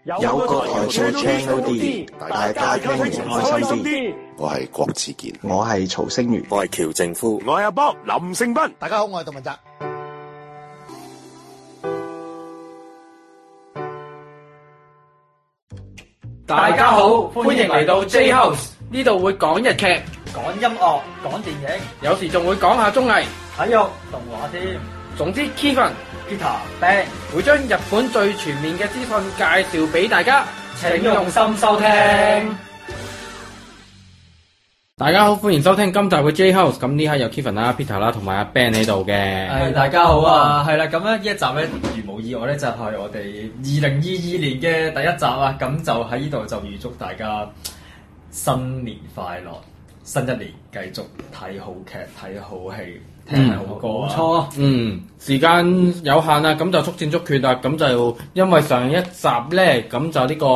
有個台做 channel D， 大家聽完開心啲。 我係郭子健， 我係曹星如， 我係喬正夫， 我係阿波林勝斌。 大家好，我係杜文澤。 大家好，歡迎嚟到 J House， 呢度會講日劇、 講音樂、講電影， 有時仲會講下綜藝、 體育、動畫添。 總之 Kevin、Peter、Ben 會將日本最全面嘅資訊介紹俾大家，請用心收聽。大家好，歡迎收聽今集嘅 J House。咁呢刻有 Kevin 啦、Peter 啦同埋阿 Ben 喺度嘅。 係大家好啊，係啦，咁咧呢一集咧如無意外咧就係我哋2022年嘅第一集啊，咁就喺呢度就預祝大家新年快樂，新一年繼續睇好劇、睇好戲、聽好歌。冇錯， 時間有限啦，咁就速戰速決啦。咁就因為上一集咧，咁就呢個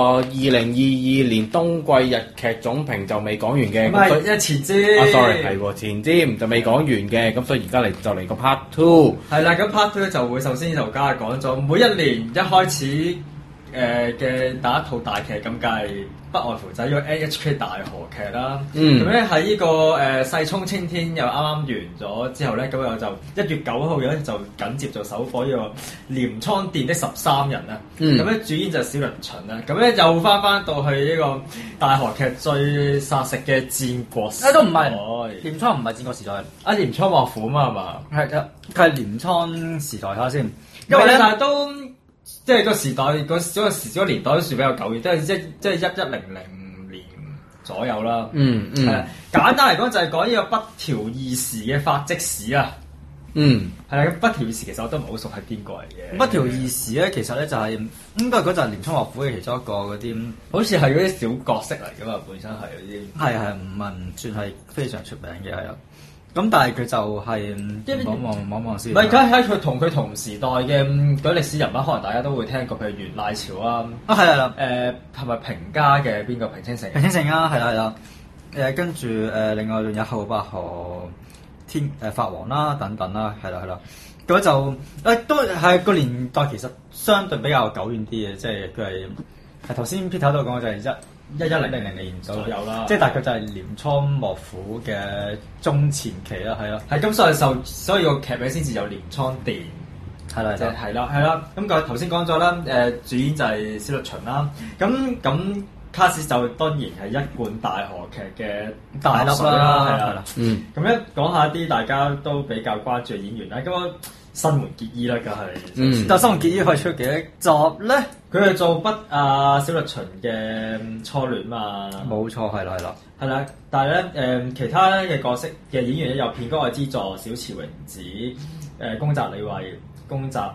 2022年冬季日劇總評就未講完嘅。 唔係，前瞻。 sorry， 係喎，前瞻就未講完嘅。咁所以而家就嚟個 part 2。係啦， 咁 part 2咧就會首先就加講咗每一年一開始嘅第一套大劇，咁梗係不外乎就係呢個 NHK 大河劇啦。咁咧喺呢個世衝青天又啱啱完咗之後咧，咁我就1月9號咧就緊接就首播呢個鎌倉殿的13人啦。咁咧主演就係小栗旬啦。咁咧又翻到去呢個大河劇最殺食嘅戰國時代。 都唔係，鎌倉唔係戰國時代。 鎌倉幕府啊嘛係嘛？ 佢係鎌倉時代睇下先。 因為咧，但係都即係個時代嗰個年代都算比較久遠，即係1100年左右啦。簡單嚟講就係講呢個北條義時嘅發跡史啊。係啦，咁北條義時其實我都唔係好熟係邊個嚟嘅。 北條義時咧，其實咧就係應該嗰陣鎌倉幕府嘅其中一個嗰啲， 好似係嗰啲小角色嚟噶嘛，本身係嗰啲。係唔算係非常出名嘅係啊。咁但係佢就係望先。 唔係，梗係佢同時代嘅嗰啲歷史人物，可能大家都會聽過，譬如源賴朝啊。 係啦。 係咪平家嘅邊個平清盛？ 平清盛啊，係啦。跟住另外仲有後白河法皇啦，等等啦，係啦。咁就都係個年代其實相對比較久遠啲嘅，即係佢係頭先 Peter 都講就係1100年左右啦，即係大概就係鎌倉幕府嘅中前期啦，係啦， 係咁所以個劇名先至有鎌倉殿，係啦，係啦，咁佢頭先講咗啦，主演就係小栗旬啦，咁卡士就當然係一貫大河劇嘅大粒啦，係啦，咁咧講下啲大家都比較關注嘅演員啦，咁新垣結衣啦，梗係， 但新垣結衣可以出幾多集咧？ 佢係做小栗旬嘅初戀嘛， 冇錯，係啦， 但係咧其他嘅角色嘅演員咧有片岡愛之助、小池榮子、宮澤理惠、宮澤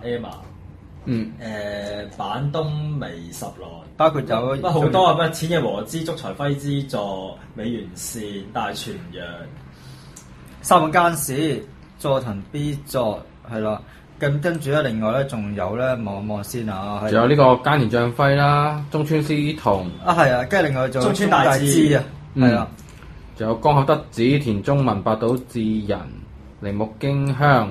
Emma，板東美十郎， 包括有好多啊，淺野和之、竹財輝之助、美原善、大泉洋、 三本耕史、佐藤 B 作。係啦，跟住咧，另外咧仲有咧，望先啊， 仲有呢個菅田將暉啦，中村獅童係啊，跟住另外仲有中村大志啊，係啦， 仲有江口德子、田中文、八島智人、鈴木京香，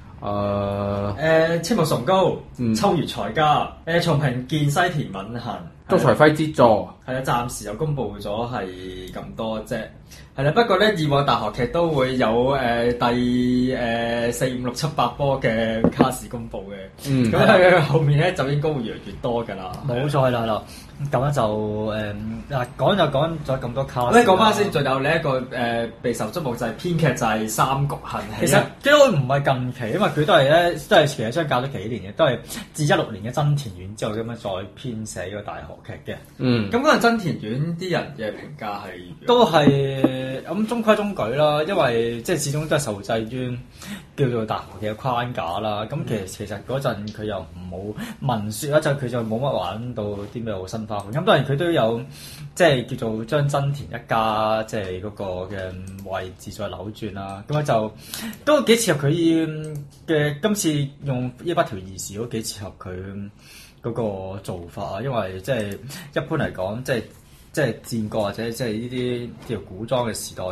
青木崇高、秋月才加、松平健、西田敏行、 竹財輝之助， 係啦，暫時就公布咗係咁多啫。係啦，不過咧以往大河劇都會有第4、5、6、7、8波嘅卡士公佈嘅，咁喺後面咧就應該會越嚟越多㗎啦。 冇錯係啦，咁咧就講就講咗咁多卡。 咧講翻先，仲有另一個備受觸目就係編劇就係三谷幸喜。 其實都唔係近期，因為佢都係其實相隔咗幾年嘅，都係自16年嘅真田院之後咁樣再編寫呢個大河劇嘅。 咁嗰陣真田院啲人嘅評價係都係。咁中規中矩啦，因為即係始終都係受制於叫做大河劇嘅框架啦。咁其實嗰陣佢又冇文説啦，就佢就冇乜玩到啲咩好新花款。咁當然佢都有即係叫做將真田一家即係嗰個嘅位置再扭轉啦。咁就都幾切合佢嘅今次用呢北條義時都幾切合佢嗰個做法啊。因為即係一般嚟講，即係戰國或者即係呢啲叫古裝嘅時代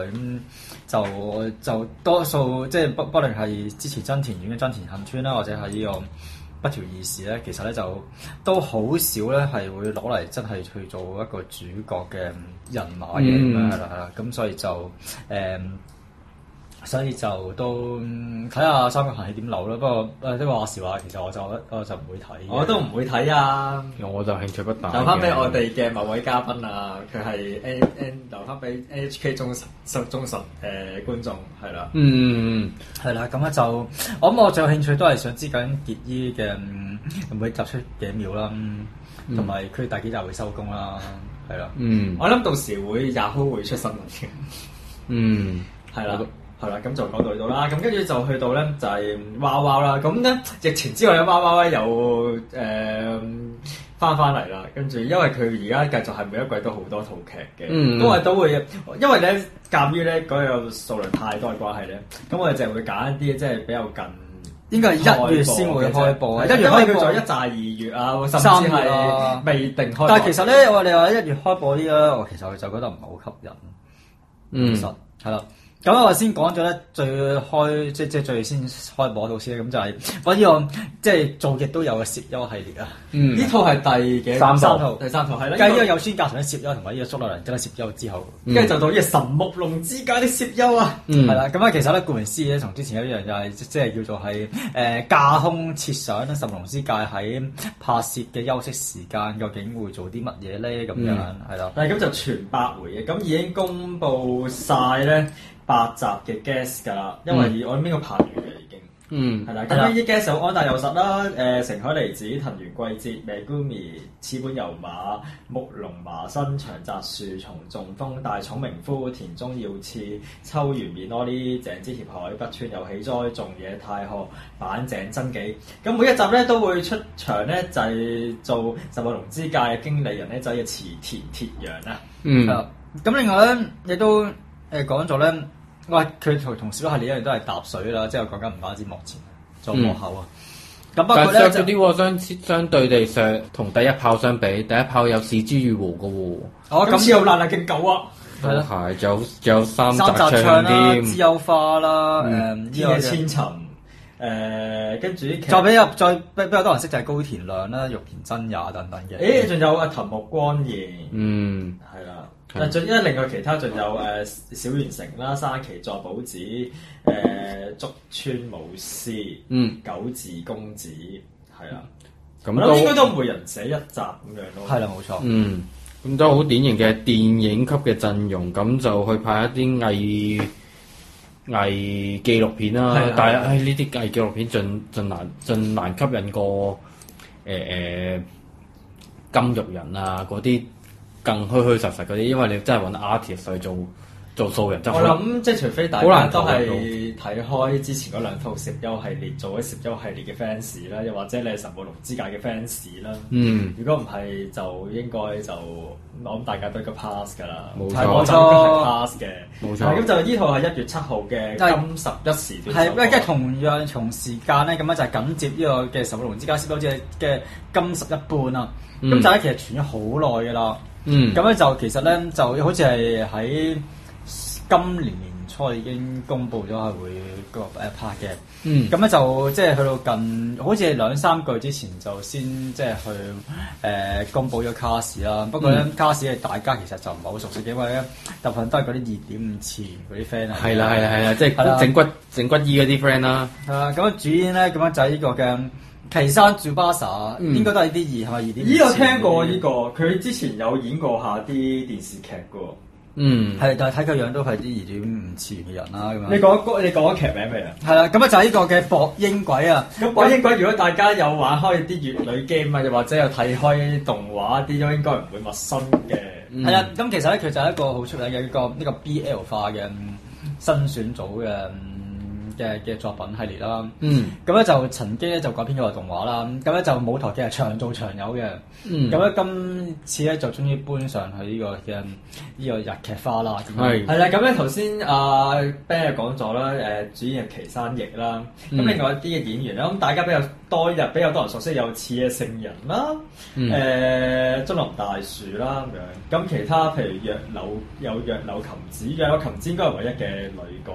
咁，就多數即係不論係之前真田院嘅真田幸村啦，或者係呢個不條義士咧，其實咧就都好少咧係會攞嚟真係去做一個主角嘅人馬嘅咁樣係啦，咁所以就都睇下《三國行》係點流啦。不過都話時話，其實我就唔會睇。 我都唔會睇啊！ 我就興趣不大。 留翻俾我哋嘅某位嘉賓啊，佢係留翻俾 NHK 忠實觀眾係啦。 係啦，咁咧就我諗我最有興趣都係想知緊結衣嘅會唔會集出幾秒啦，同埋佢第幾集會收工啦，係啦。 我諗到時會 Yahoo 會出新聞嘅。係啦。係啦，咁就講到呢度啦。咁跟住就去到咧，就係娃娃啦。咁咧疫情之後咧，娃娃咧又翻嚟啦。跟住因為佢而家繼續係每一季都好多套劇嘅，都會因為咧鑑於咧嗰個數量太多嘅關係咧，咁我哋就會揀一啲即係比較近， 應該係1月先會開播啊。1月開播咗1至2月啊，甚至係未定開播。但係其實咧，我哋話1月開播啲咧，我其實就覺得唔係好吸引。其實係啦。咁我先講咗咧，即係最先開播套先，咁就係我呢個即係做極都有嘅攝優系列啊。呢套係第幾三套？第三套係啦。繼呢個有村架純嘅攝優同埋呢個蘇洛良真係攝優之後，跟住就到呢個神木隆之介的攝優啊。係啦，咁其實咧顧名思義咧，同之前一樣就係即係叫做係架空設想神木隆之介喺拍攝嘅休息時間究竟會做啲乜嘢咧？咁樣係啦。咁就全8回嘅，咁已經公佈晒咧。8集嘅 guest 㗎啦，因為我諗邊個拍完嘅已經，係啦。咁呢啲 guest 有安大佑實啦，成海梨子、藤原季節、Megumi、矢本悠馬、木龍麻生、長澤樹、松仲豐、大塚明夫、田中耀次、秋元面柯哩、井之協海、北川有喜哉、仲野太賀、坂井真紀。咁每一集咧都會出場咧，就係做神木隆之介嘅經理人咧，就係池田鐵陽啊。咁另外咧亦都講咗咧。佢同小系列一樣都係踏水啦，即係講緊唔單止幕前，仲有幕後啊。咁不過咧， 嗰啲相對地上同第一炮相比，第一炮有是枝裕和嘅喎。 咁又爛勁狗啊！ 係咯，係仲有三集唱啦，知有花啦， 天野千尋，跟住再比較多人識就係高田亮啦、玉田真也等等嘅。 仲有藤木光彥，係啦。因為另外其他仲有小原成啦、山崎作保子、竹村武司、九字公子，係啦。咁應該都每人寫一集咁樣咯。係啦，冇錯。 咁都好典型嘅電影級嘅陣容，咁就去拍一啲偽紀錄片啦。但係呢啲偽紀錄片盡難吸引過金玉人啊嗰啲。更虛虛實實嗰啲，因為你真係揾 artist 去做素人， 我諗即係除非大家都係睇開之前嗰兩套攝優系列，做咗攝優系列嘅 fans 啦，又或者你係神木隆之介嘅 fans 啦。如果唔係，就應該我諗大家都應該 pass 㗎啦。 冇錯，我就應該係 pass 嘅。 冇錯。 咁就呢套係1月7號嘅金11時段。 係，即係同樣從時間咧，咁樣就係緊接呢個嘅神木隆之介攝優嘅金11半啊。咁就係其實傳咗好耐㗎啦。咁咧就其實咧就好似係喺今年年初已經公佈咗係會拍嘅。咁咧就即係去到近好似係2-3個月之前就先即係去公佈咗卡士啦。不過咧卡士係大家其實就唔係好熟悉嘅，因為咧大部分都係嗰啲2.5次元嗰啲 friend 啊。係啦，即係整骨醫嗰啲 friend 啦。 係啦，咁主演咧咁樣就係呢個嘅。岐山住巴薩應該都係啲2係咪2.5？ 呢個聽過呢個，佢之前有演過下啲電視劇嘅。 係，但係睇佢樣都係啲2.5次元嘅人啦。咁樣你講咗劇名未啊？係啦，咁啊就係呢個嘅博英鬼啊。 咁博英鬼如果大家有玩開啲乙女 game 啊，又或者有睇開動畫啲，都應該唔會陌生嘅。 係啦，咁其實咧佢就係一個好出名嘅呢個 BL 化嘅新選組嘅作品系列啦，咁咧就曾經咧就改編咗個動畫啦，咁咧就舞台劇係長做長有嘅，咁咧今次咧就終於搬上去呢個嘅呢個日劇化啦，係啦，咁咧頭先阿 Ben 講咗啦，主演係岐山翼啦，咁另外一啲嘅演員咧，咁大家比較多人熟悉有矢野聖人啦，津林大樹啦咁樣，咁其他譬如若柳琴子應該係唯一嘅女角嚟嘅。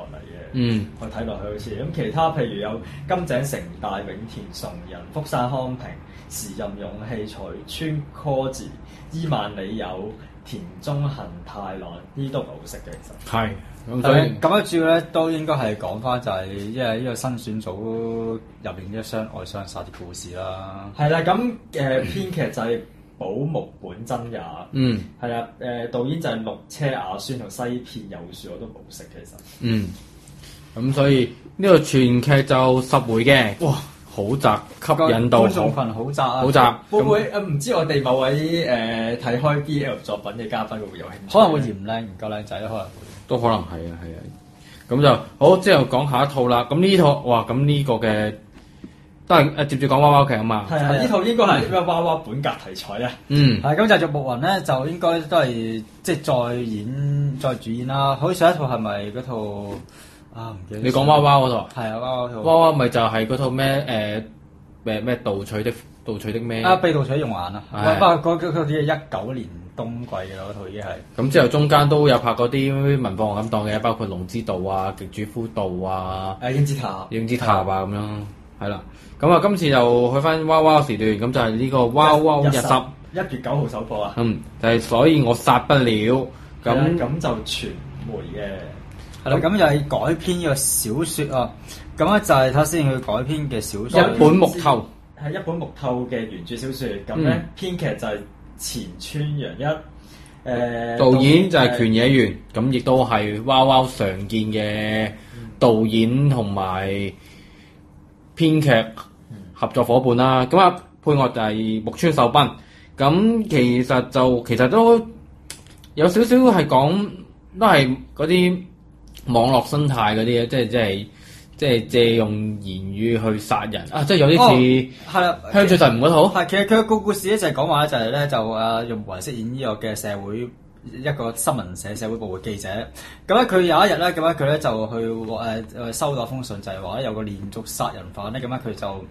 我睇落去好似咁。其他譬如有金井城大、永田崇仁、福山康平、時任勇氣、財川柯治、伊萬里友、田中恒太郎，呢啲都唔係好識嘅其實。係。 咁所以咁樣主要咧都應該係講翻就係因為呢個新選組入邊啲相愛相殺啲故事啦。係啦，咁編劇就係寶木本真也。係啦，導演就係綠車雅宣同西片有樹，我都冇識其實。 咁所以呢個全劇就10回嘅。哇！好窄，吸引到觀眾群好窄啊！ 好窄， 會唔會唔知我哋某位睇開 BL 作品嘅嘉賓會唔會有興趣？ 可能會嫌靚唔夠靚仔，可能會都可能係啊。咁就好，之後講下一套啦。咁呢套哇，咁呢個嘅都係接住講娃娃劇啊嘛。 係啊，呢套應該係咩娃娃本格題材啊。 係咁就木雲咧，就應該都係即係再主演啦。好似上一套係咪嗰套？唔記得。你講娃娃嗰套？係啊，娃娃套。娃娃咪就係嗰套咩咩盜取的咩？被盜取用眼啊！不過嗰套啲係19年冬季嘅嗰套已經係。咁之後中間都有拍嗰啲文房咁當嘅，包括龍之道啊、極主夫道啊、英之塔啊咁樣，係啦。咁啊，今次又去翻娃娃時段，咁就係呢個娃娃日10，1 月9號首播啊。 就係所以我殺不了。咁就傳媒嘅。 係啦，咁又係改編呢個小説啊！咁咧就係睇先佢改編嘅小説， 一本木頭係一本木頭嘅原著小説。咁咧編劇就係前川洋一， 導演就係權野源，咁亦都係娃娃常見嘅導演同埋編劇合作伙伴啦。咁啊配樂就係木村秀彬。咁其實都有少少係講都係嗰啲網絡生態嗰啲嘢，即係借用言語去殺人啊！即係有啲似係啦，香取慎吾嗰套。係，其實佢個故事咧就係講話就係咧用木雲飾演呢個嘅社會一個新聞社會部嘅記者。咁咧佢有一日咧，咁咧佢咧就去收到封信，就係話有個連續殺人犯咧，咁咧佢就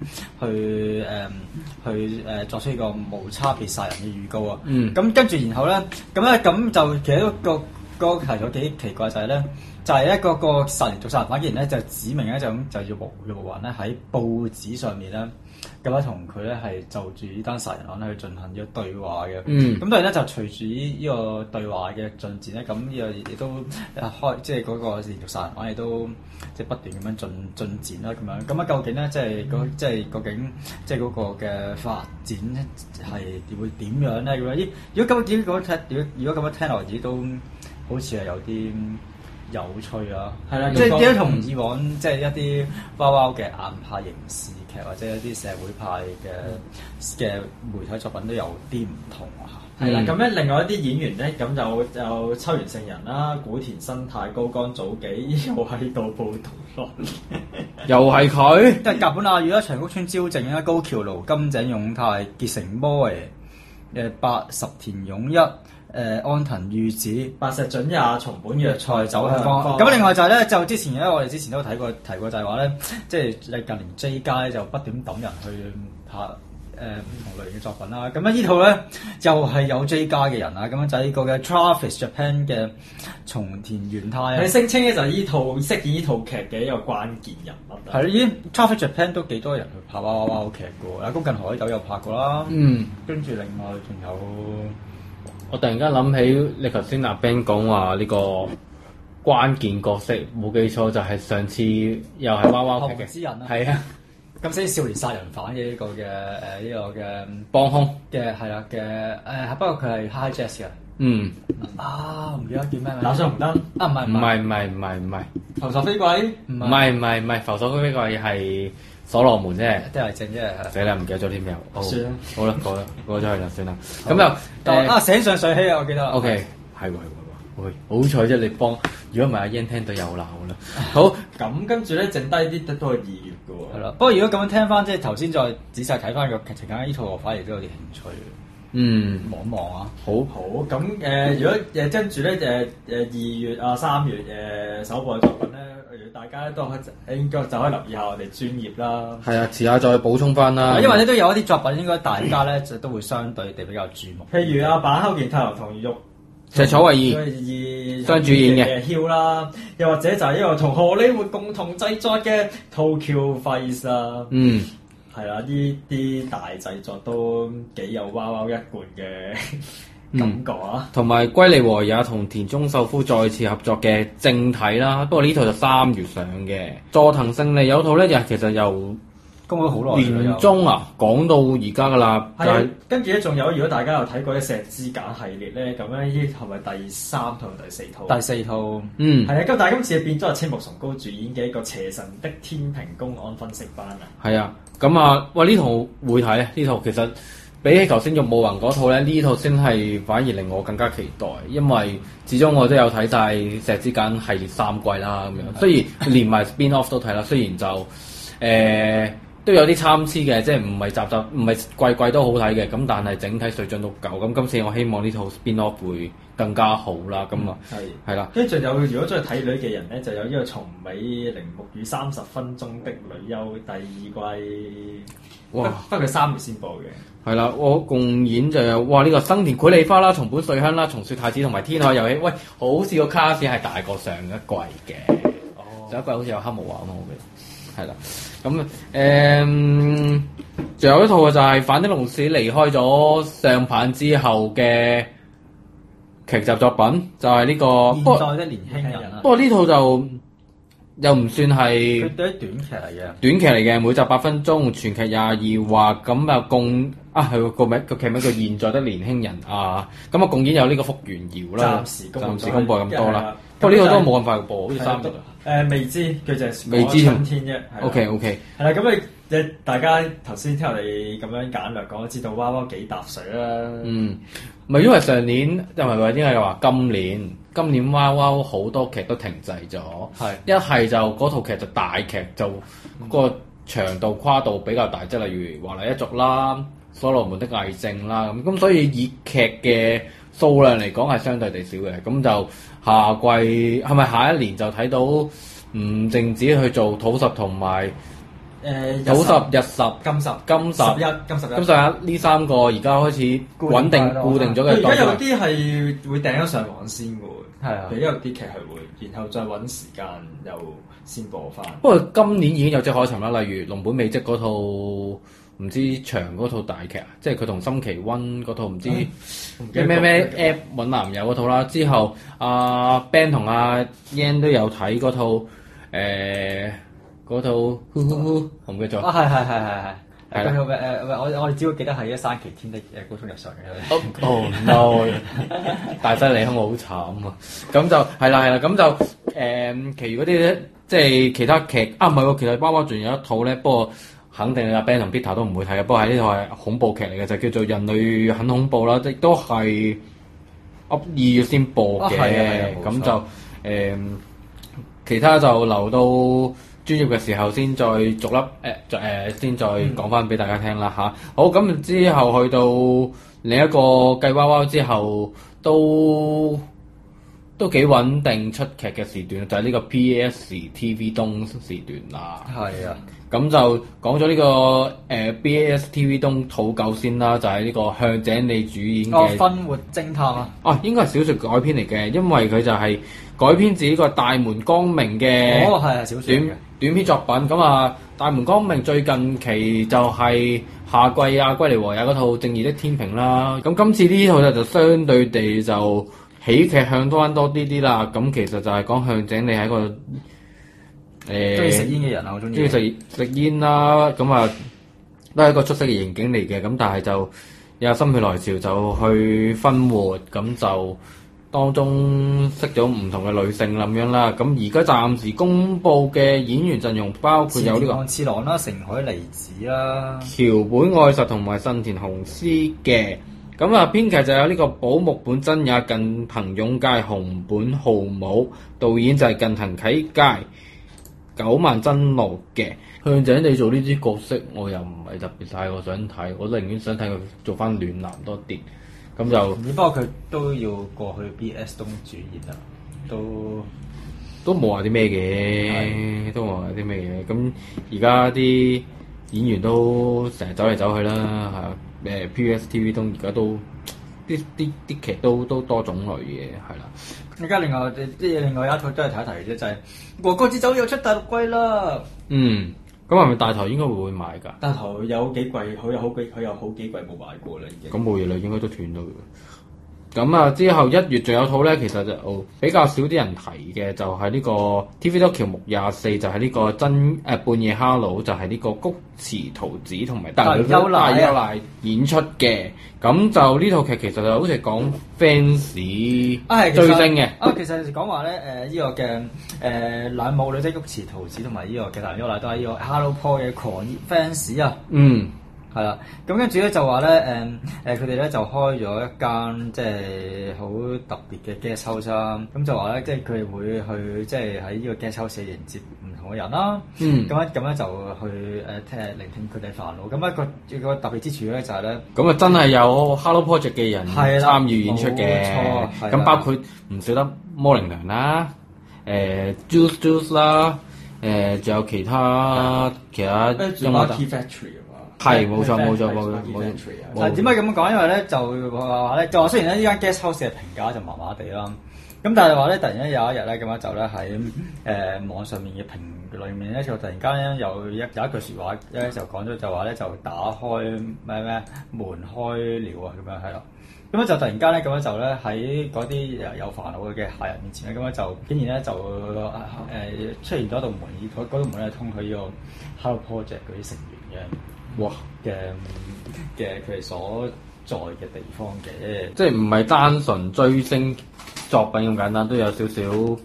去作出呢個無差別殺人嘅預告啊。咁跟住然後咧，咁就其實個題材幾奇怪就係咧。就係一個殺人犯，竟然咧就指明咧就要木雲咧喺報紙上面咧咁樣同佢咧係就住呢單殺人案咧去進行呢個對話嘅。咁當然咧就隨住呢個對話嘅進展咧，咁呢個亦都即係嗰個連續殺人案亦都即係不斷咁樣進展啦咁樣。咁啊究竟咧究竟即係嗰個嘅發展係會點樣咧？咁樣如果咁樣聽落嚟都好似係有啲有趣啊，係啦，即係點解同以往即係一啲娃娃嘅硬派刑事劇或者一啲社會派嘅媒體作品都有啲唔同啊。 係啦，咁咧另外一啲演員咧，咁就秋元聖人啦、古田新太、高岡早紀又喺度報道咯， 又係佢， 即係甲本亞羽啦、長谷川昭正啦、高橋盧、金井勇太、結城摩白石田勇一。安藤裕子、 白石準也、松本若菜走向方。 咁另外就係咧，就之前咧，我哋之前都提過，就係話咧，即係近年 J 街咧就不斷抌人去拍唔同類型嘅作品啦。咁咧呢套咧又係有 J 街嘅人啊。咁樣就係呢個嘅 Travis Japan 嘅松田元太啊。 佢聲稱咧就係呢套飾演呢套劇嘅一個關鍵人物。 係已經 Travis Japan 都幾多人去拍娃娃劇嘅喎。阿宮近海斗有拍過啦。跟住另外仲有。 我突然間諗起你頭先阿 Ben 講話呢個關鍵角色，冇記錯就係上次又係娃娃劇嘅之人啦， 係啊， 咁先少年殺人犯嘅呢個嘅呢個嘅幫兇嘅係啦嘅不過佢係 High Jazz 嘅。唔記得叫咩名？ 打上紅燈唔係浮索飛鬼， 唔係浮索飛鬼係。所羅門啫， 都係正啫。 死啦，唔記得咗添又。 算啦， 好啦，過咗去啦，算啦。咁就醒上水希啊，我記得。 OK，係喎，好彩啫！你幫，如果唔係阿 Yan 聽到又鬧啦。好， 咁跟住咧，剩低啲都係2月嘅喎。 係啦，不過如果咁樣聽翻，即係頭先再仔細睇翻個劇情，呢套我反而都有啲興趣。望一望啊！ 好，咁如果跟住咧2月啊3月首播嘅作品咧。大家都應該就可以留意下我哋專業啦。 係啊，遲下再補充翻啦。 因為咧都有一啲作品應該大家咧就都會相對地比較注目。 譬如阿坂口健太郎同赤楚衛二雙主演嘅 Hill 啦，又或者就係一個同荷里活共同製作嘅 Tokyo Vice 啦。係啦，呢啲大製作都幾有wow wow一貫嘅感覺啊！ 同埋龜梨和也同田中秀夫再次合作嘅正體啦，不過呢套就3月上嘅。佐藤勝利有套咧，其實由公咗好耐年中講到而家噶啦。 係，跟住咧仲有，如果大家有睇過《石之間》系列咧，咁咧呢套係咪第3套同第4套？ 第4套。 係啊，咁但係今次變咗係青木崇高主演嘅一個邪神的天平公案分析班啊。 係啊，咁啊，喂呢套會睇啊！呢套其實比起頭先玉木宏嗰套咧，呢套先係反而令我更加期待，因為始終我都有睇晒《石之間》系列3季啦咁樣。雖然連埋 spin off 都睇啦，雖然就都有啲參差嘅，即係唔係集唔係季都好睇嘅，咁但係整體水準都夠。咁今次我希望呢套 spin off 會更加好啦。咁啊係啦， 跟住仲有，如果中意睇女嘅人咧，就有呢個松尾鈴木與30分鐘的女優第2季。哇！不過佢3月先播嘅。係啦，我共演就有呢個生田繪梨花啦、松本瑞香啦、松雪太子同埋天海佑希。喂，好似個卡士係大過上一季嘅。上一季好似有黑木華啊嘛，我記得。係啦，咁仲有一套就係反町隆史離開咗上棒之後嘅劇集作品，就係呢個現在的年輕人。 不過呢套就又唔算係佢都係短劇嚟嘅， 短劇嚟嘅，每集8分鐘，全劇22話，咁啊共係個劇名叫《現在的年輕人》啊，咁啊共演有呢個福原遙啦，暫時公佈咁多啦。不過呢個都冇咁快播，好似3月。 未知佢就係未知春天啫。 OK。 係啦，咁你大家頭先聽我哋咁樣簡略講，知道娃娃幾搭水啦。 唔係因為上年，又唔係話應該話今年娃娃好多劇都停滯咗。一係就嗰套劇就大劇，就個長度跨度比較大，即係例如華麗一族啦、所羅門的偽證啦咁所以以劇嘅數量嚟講係相對地少嘅，咁就下季係咪下一年就睇到唔淨止去做土十同埋土十、日十、 金十、 金十一呢3個而家開始穩定固定咗嘅。 而家有啲係會訂咗上網先嘅喎， 係啊， 有啲劇係會，然後再揾時間又先播翻。 不過今年已經有跡可尋啦，例如龍本美織嗰套唔知長嗰套大劇啊，即係佢同森崎溫嗰套唔知咩 app 揾男友嗰套啦。之後阿 Ben 同阿 Yan 都有睇嗰套嗰套我唔記得咗。 係啦，我哋只會記得係山崎天的高中日常嘅。 Oh no！ 大西利空我好慘啊！咁就係啦，咁就其餘嗰啲咧，即係其他劇唔係喎，其實娃娃仲有一套咧，不過肯定阿 Ben 同 Peter 都唔會睇嘅。不過喺呢套係恐怖劇嚟嘅，就叫做《人類很恐怖》啦，亦都係2月先播嘅。咁就其他就留到專業嘅時候先再逐粒先再講翻俾大家聽啦嚇。好，咁之後去到另一個計娃娃之後都幾穩定出劇嘅時段，就係呢個 PS TV 東時段啦。 係啊， 咁就講咗呢個PS TV 東土狗先啦，就係呢個向井理主演嘅《 分活偵探》啊。 應該係小說改編嚟嘅，因為佢就係改編自呢個大門光明嘅小說短篇作品。咁啊，大門光明最近期就係夏季龜梨和也嗰套《正義的天平》啦。咁今次呢套就相對地就喜劇向多啲啦。咁其實就係講向井理係一個中意食煙嘅人啊，我中意食煙啦。咁啊都係一個出色嘅刑警嚟嘅。咁但係就有心血來潮就去分活，咁就當中識咗唔同嘅女性咁樣啦。咁而家暫時公佈嘅演員陣容包括有呢個次郎啦、成海梨子啦、 橋本愛實同埋新田雄司嘅。咁啊，編劇就有呢個寶木本真也、近藤勇介、熊本浩武，導演就係近藤啟介、九萬真路嘅。向井理做呢啲角色，我又唔係特別太過想睇，我寧願想睇佢做翻暖男多啲。咁就不過佢都要過去 BS 東主演啦，都冇話啲咩嘅，都冇話啲咩嘅。咁而家啲演員都成日走嚟走去啦，PSTV 東而家都啲劇都多種類嘅，係啦。 而家另外一套都係睇一提啫，就係《和歌之酒》又出第6季啦。 咁係咪大台應該會買㗎？ 大台有幾季，佢有好幾季冇買過啦，已經。 咁冇嘢啦，應該都斷咗嘅。咁啊，之後1月仲有套咧，其實就比較少啲人提嘅，就係呢個 TVB 喬目24，就係呢個半夜哈佬，就係呢個菊池桃子同埋大優賴演出嘅。咁就呢套劇其實就好似講 fans 追星嘅。 其實講話咧，呢個嘅兩母女即菊池桃子同埋呢個嘅大優賴都係呢個 Hello Paul 嘅狂熱 fans 啊。係啦，咁跟住咧就話咧，佢哋咧就開咗一間即係好特別嘅 guest house 啦。咁就話咧，即係佢哋會去即係喺呢個 guest house 迎接唔同嘅人啦。咁咧就去聆聽佢哋煩惱。咁一個特別之處咧就係咧， 咁啊真係有 Hello Project 嘅人參與演出嘅。冇錯，咁包括唔少得摩靈娘啦，Juice 啦，仲有其他有冇 Key Factory。 係冇錯。 但係點解咁講？因為咧就話咧，就話雖然咧呢間 guest house 嘅評價就麻麻地啦，咁但係話咧突然間有一日咧咁樣就咧喺網上面嘅評裏面咧就突然間咧有一句説話咧就講咗就話咧就打開咩門開了啊咁樣係啦，咁樣就突然間咧咁樣就咧喺嗰啲有煩惱嘅客人面前咧咁樣就竟然咧就出現咗一道門，嗰道門咧通去呢個 Hello Project 嗰啲成員嘅。哇嘅佢哋所在嘅地方嘅， 即係唔係單純追星作品咁簡單，都有少少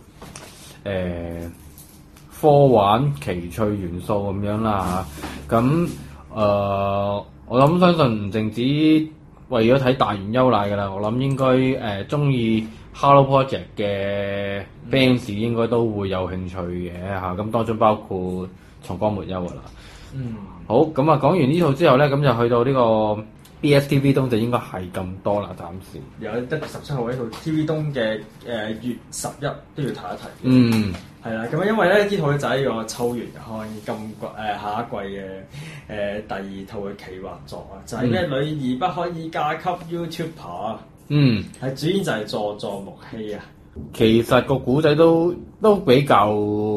科幻奇趣元素咁樣啦嚇。咁我諗相信唔淨止為咗睇大原優賴㗎啦，我諗應該中意 Hello Project 嘅 fans 應該都會有興趣嘅嚇。咁當中包括松岡茉優㗎啦。好，咁啊講完呢套之後咧，咁就去到呢個 BSTV 東就應該係咁多啦，暫時。 有得17號呢套 TV 東嘅月11都要睇一睇。係啦，咁因為咧呢套就係呢個秋元康下一季嘅第2套嘅企劃作啊，就係咩女兒不可以嫁給 YouTuber。係主演就係佐佐木希啊。 其實個古仔都比較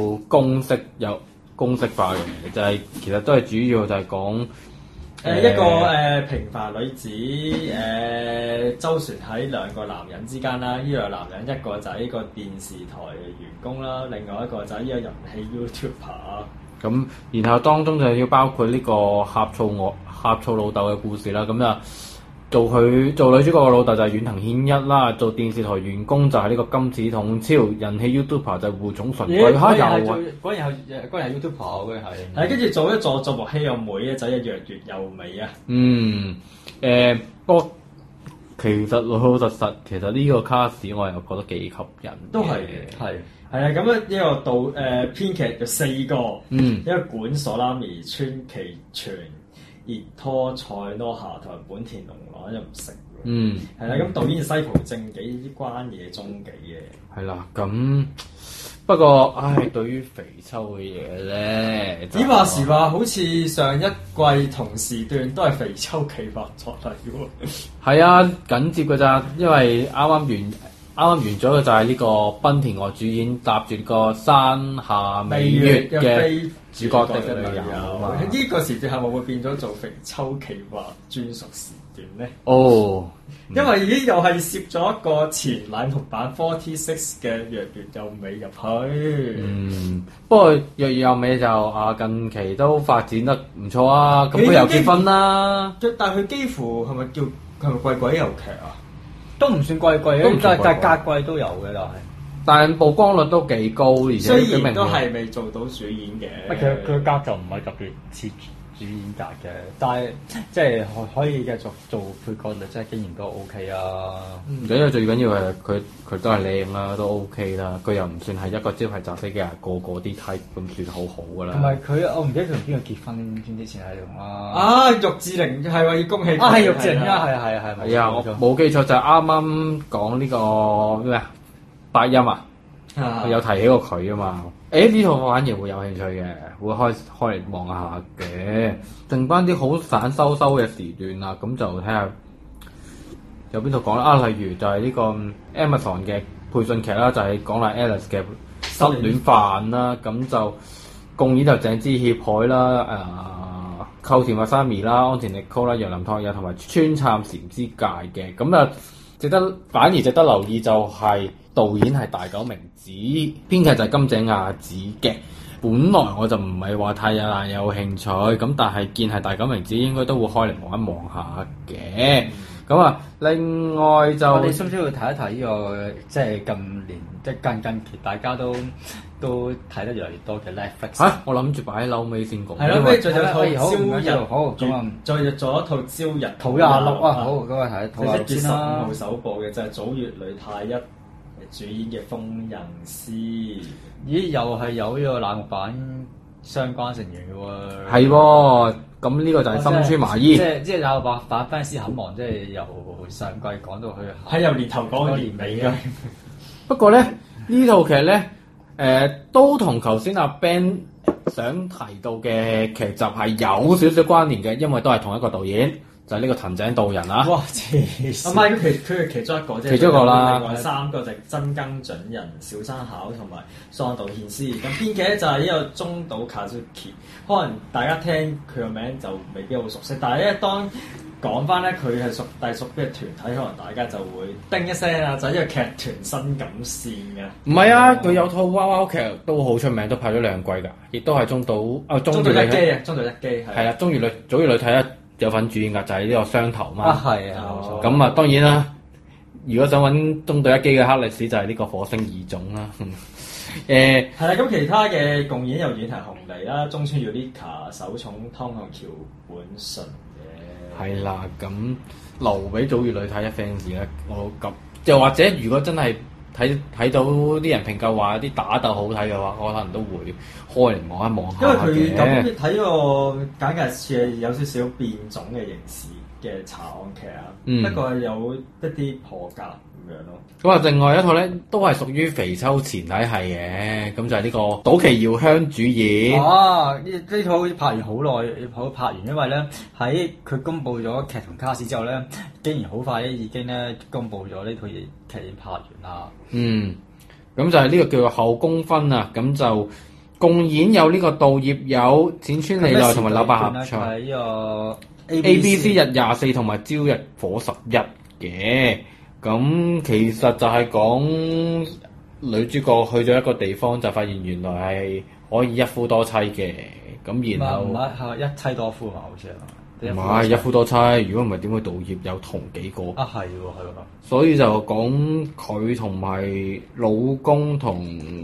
公式化嘅，就係其實都係主要就係講一個平凡女子周旋喺兩個男人之間啦。呢個男人一個就係呢個電視台嘅員工啦，另外一個就係呢個人氣 YouTuber。 咁然後當中就要包括呢個呷醋老豆嘅故事啦。咁啊做女主角嘅老豆就係遠藤憲一啦，做電視台員工就係呢個金子統超，人氣 YouTuber 就係戶塚純貴。 嗰人係 YouTuber 嗰係。 跟住做一佐佐木希有妹咧，就係若月又美啊。 不過其實老實，其實呢個卡士我又覺得幾吸引。 都係嘅，係啊，咁樣一個編劇有4個，一個管所拉美、川崎全、熱拖菜羅夏同埋本田龍朗又唔識喎。係啦，咁導演西浦正紀啲關野中紀嘅。係啦， 咁不過對於肥秋嘅嘢咧， 只話時話，好似上一季同時段都係肥秋企劃作嚟嘅喎。 係啊，緊接㗎咋，因為啱啱完咗嘅就係呢個濱田愛主演搭住個山下美月嘅主角的女友。 呢個時段係咪會變咗做肥秋企劃專屬時段咧？因為已經又係攝咗一個前乃木坂46嘅若月又美入去。 不過若月又美就近期都發展得唔錯啊！咁佢又結婚啦。 但係佢幾乎係咪貴鬼遊劇啊？ 都唔算貴，但係隔季都有嘅， 但係曝光率都幾高，而且雖然都係未做到主演嘅。 佢格就唔係特別似主演格嘅，但係即係可以繼續做配角率，即係經驗都 OK 啊。 因為最緊要係佢都係靚啦，都 OK 啦。佢又唔算係一個招牌雜飛嘅人，個啲 type 咁算好噶啦。 同埋我唔記得佢同邊個結婚之前係用啦。 玉志玲係話要恭喜佢。 係玉志玲啊，係啊，我冇記錯就係啱啱講呢個咩八音有提起過佢啊嘛。呢套我反而會有興趣嘅，會開嚟望下嘅。剩翻啲好散收嘅時段啦，咁就睇下有邊套講啦？例如就係呢個 Amazon 嘅配信劇啦，就係講啦 Alice 嘅失戀犯啦，咁就共演就鄭之協海啦，寇田惠三兒啦，安田力高啦，楊林拓也同埋川杉禪之介嘅，咁啊反而值得留意就係導演係大久明子，編劇就係金井亞子嘅。本來我就唔係話太有興趣，咁但係見係大久明子應該都會開嚟望一望下嘅。咁啊，另外就我哋需唔需要睇一睇呢個即係近年即係近期大家都睇得越嚟越多嘅 Netflix 嚇？我諗住擺喺嬲尾先講。 係咯，不如仲有套朝日好咁啊， 再做一套朝日土廿六啊，好嗰個睇土廿六先啦。1月15號先啦。 首播嘅就係早月呂太一主演嘅《封刃師》。 咦，又係有呢個欄目版相關成員嘅喎。 係喎，咁呢個就係深川麻衣。 即係有版翻師很忙，即係由上季講到去係由年頭講到年尾嘅。 不過咧，呢套劇咧，都同頭先阿 Ben 想提到嘅劇集係有少少關聯嘅，因為都係同一個導演，就係呢個藤井道人啊。 哇！黐線。 唔係佢係其中一個啫。 其中一個啦。 另外3個就係真耕准人、小山巧同埋桑島憲司。咁編劇咧就係呢個中島 Kazuki。可能大家聽佢個名就未必好熟悉，但係咧當講翻咧佢係屬邊嘅團體，可能大家就會叮一聲啊！就係呢個劇團新幹線嘅。 唔係啊，佢有套娃娃劇都好出名，都拍咗2季㗎，亦都係中島一機啊，中島一機係啦，早月呂太一有份主演㗎，就係呢個雙頭嘛。 啊，係啊，冇錯。 咁啊，當然啦，如果想揾中島一機嘅黑歷史，就係呢個火星異種啦。 係啦，咁其他嘅共演又演係紅梨啦、中村 Yurika、手塚湯同橋本純嘅。 係啦，咁留俾早月呂太一 fans 咧，我咁又或者如果真係睇到啲人評價話啲打鬥好睇嘅話，我可能都會開嚟望一望下嘅。 因為佢咁睇個簡介似係有少少變種嘅刑事嘅查案劇啊，不過有一啲破格咁樣咯。 咁啊，另外一套咧都係屬於肥秋前體系嘅，咁就係呢個島崎遙香主演。 哦，呢套拍完好耐，拍完，因為咧喺佢公佈咗劇同卡士之後咧，竟然好快咧已經咧公佈咗呢套嘢劇已經拍完啦。 咁就係呢個叫做後宮分啊，咁就共演有呢個稻葉友、淺川莉奈同埋柳百合唱。 係呢個 ABC 日24同埋朝日火11嘅。咁其實就係講女主角去咗一個地方，就發現原來係可以一夫多妻嘅。咁然後唔係一妻多夫嘛，好似係。 唔係一夫多妻，如果唔係點會稻葉有同幾個？ 啊，係喎，係喎。 所以就講佢同埋老公同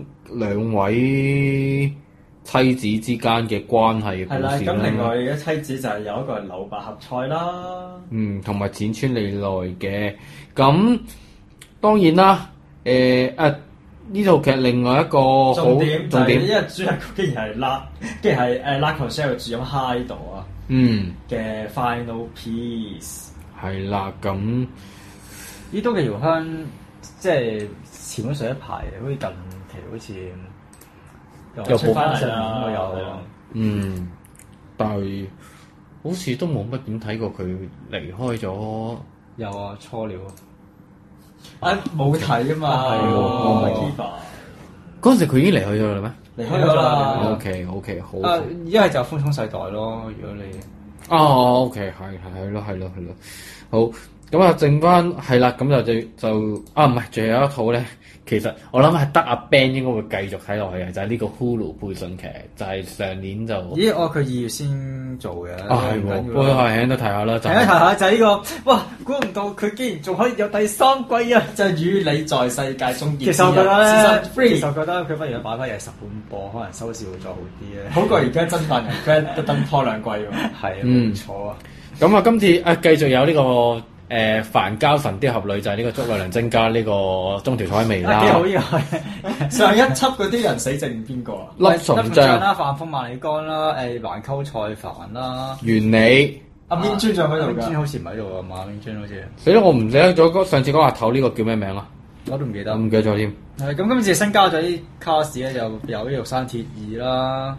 2位妻子之間嘅關係嘅故事啦。 係啦，咁另外嘅妻子就係有一個係柳百合菜啦。 同埋淺川莉奈嘅。咁當然啦，呢套劇另外一個重點，因為主人公竟然係拉克西爾主演 Hide 啊。嘅 Final Piece 係啦，咁呢都嘅遙香即係前咗上一排，好似近期好似又出翻上面有， 但係好似都冇乜點睇過佢離開咗。 有啊，初了冇睇啊嘛，係喎。 嗰陣時佢已經離開咗啦咩？ 離開咗啦。 OK，好。 一係就風沖世代咯，如果你 OK，係咯，好，咁啊，剩翻係啦，咁就唔係，仲有一套咧。其實我諗係得阿 Ben 應該會繼續睇落去嘅，就係呢個 Hulu 配信劇，就係上年就佢2月先做嘅。 係喎，不過係都睇下啦。 睇下就係呢個，哇！估唔到佢竟然仲可以有第3季啊！ 就係與你在世界中。 其實我覺得佢不如擺翻日10本播，可能收視會再好啲咧。 好過而家真犯人 Fred 得等拖2季喎。 係冇錯啊！ 咁啊，今次繼續有呢個。繁交神鵰俠侶就係呢個竹內涼晶加呢個中條彩未啦。 幾好呢個上一輯嗰啲人死剩邊個啊？ 笠松將啦、飯風萬里江啦、環溝菜帆啦、 原理。 阿邊尊仲喺度㗎？ 邊尊好似唔喺度啊嘛，邊尊好似。 死啦！我唔記得咗上次嗰個阿頭呢個叫咩名啊？ 我都唔記得。 唔記得咗添。 咁今次新加咗啲卡士咧，就有呢個山鐵2啦。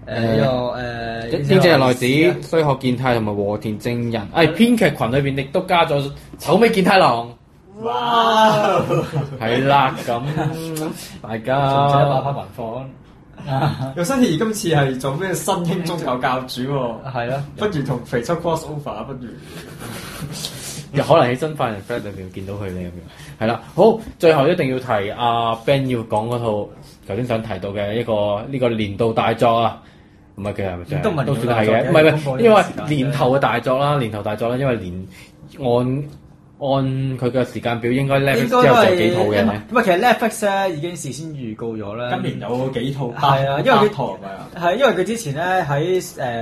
英姐內子、須賀健太同埋和田正人。編劇群裏邊亦都加咗丑尾健太郎。 哇！ 係啦，咁大家重一把翻文房。 又新田今次係做咩新興宗教教主喎？ 係咯， 不如同肥秋 cross over，不如又可能喺真犯人 Flat 裏邊見到佢哋咁樣。係啦，好，最後一定要提阿 Ben 要講嗰套頭先想提到嘅呢個年度大作啊，唔係嘅係咪？都算係嘅，唔係，因為年頭嘅大作啦，因為按佢嘅時間表應該 Netflix 之後就幾套嘅。 咁啊，其實 Netflix 咧已經事先預告咗啦。 今年有幾套？ 係啊，因為佢係因為佢之前咧喺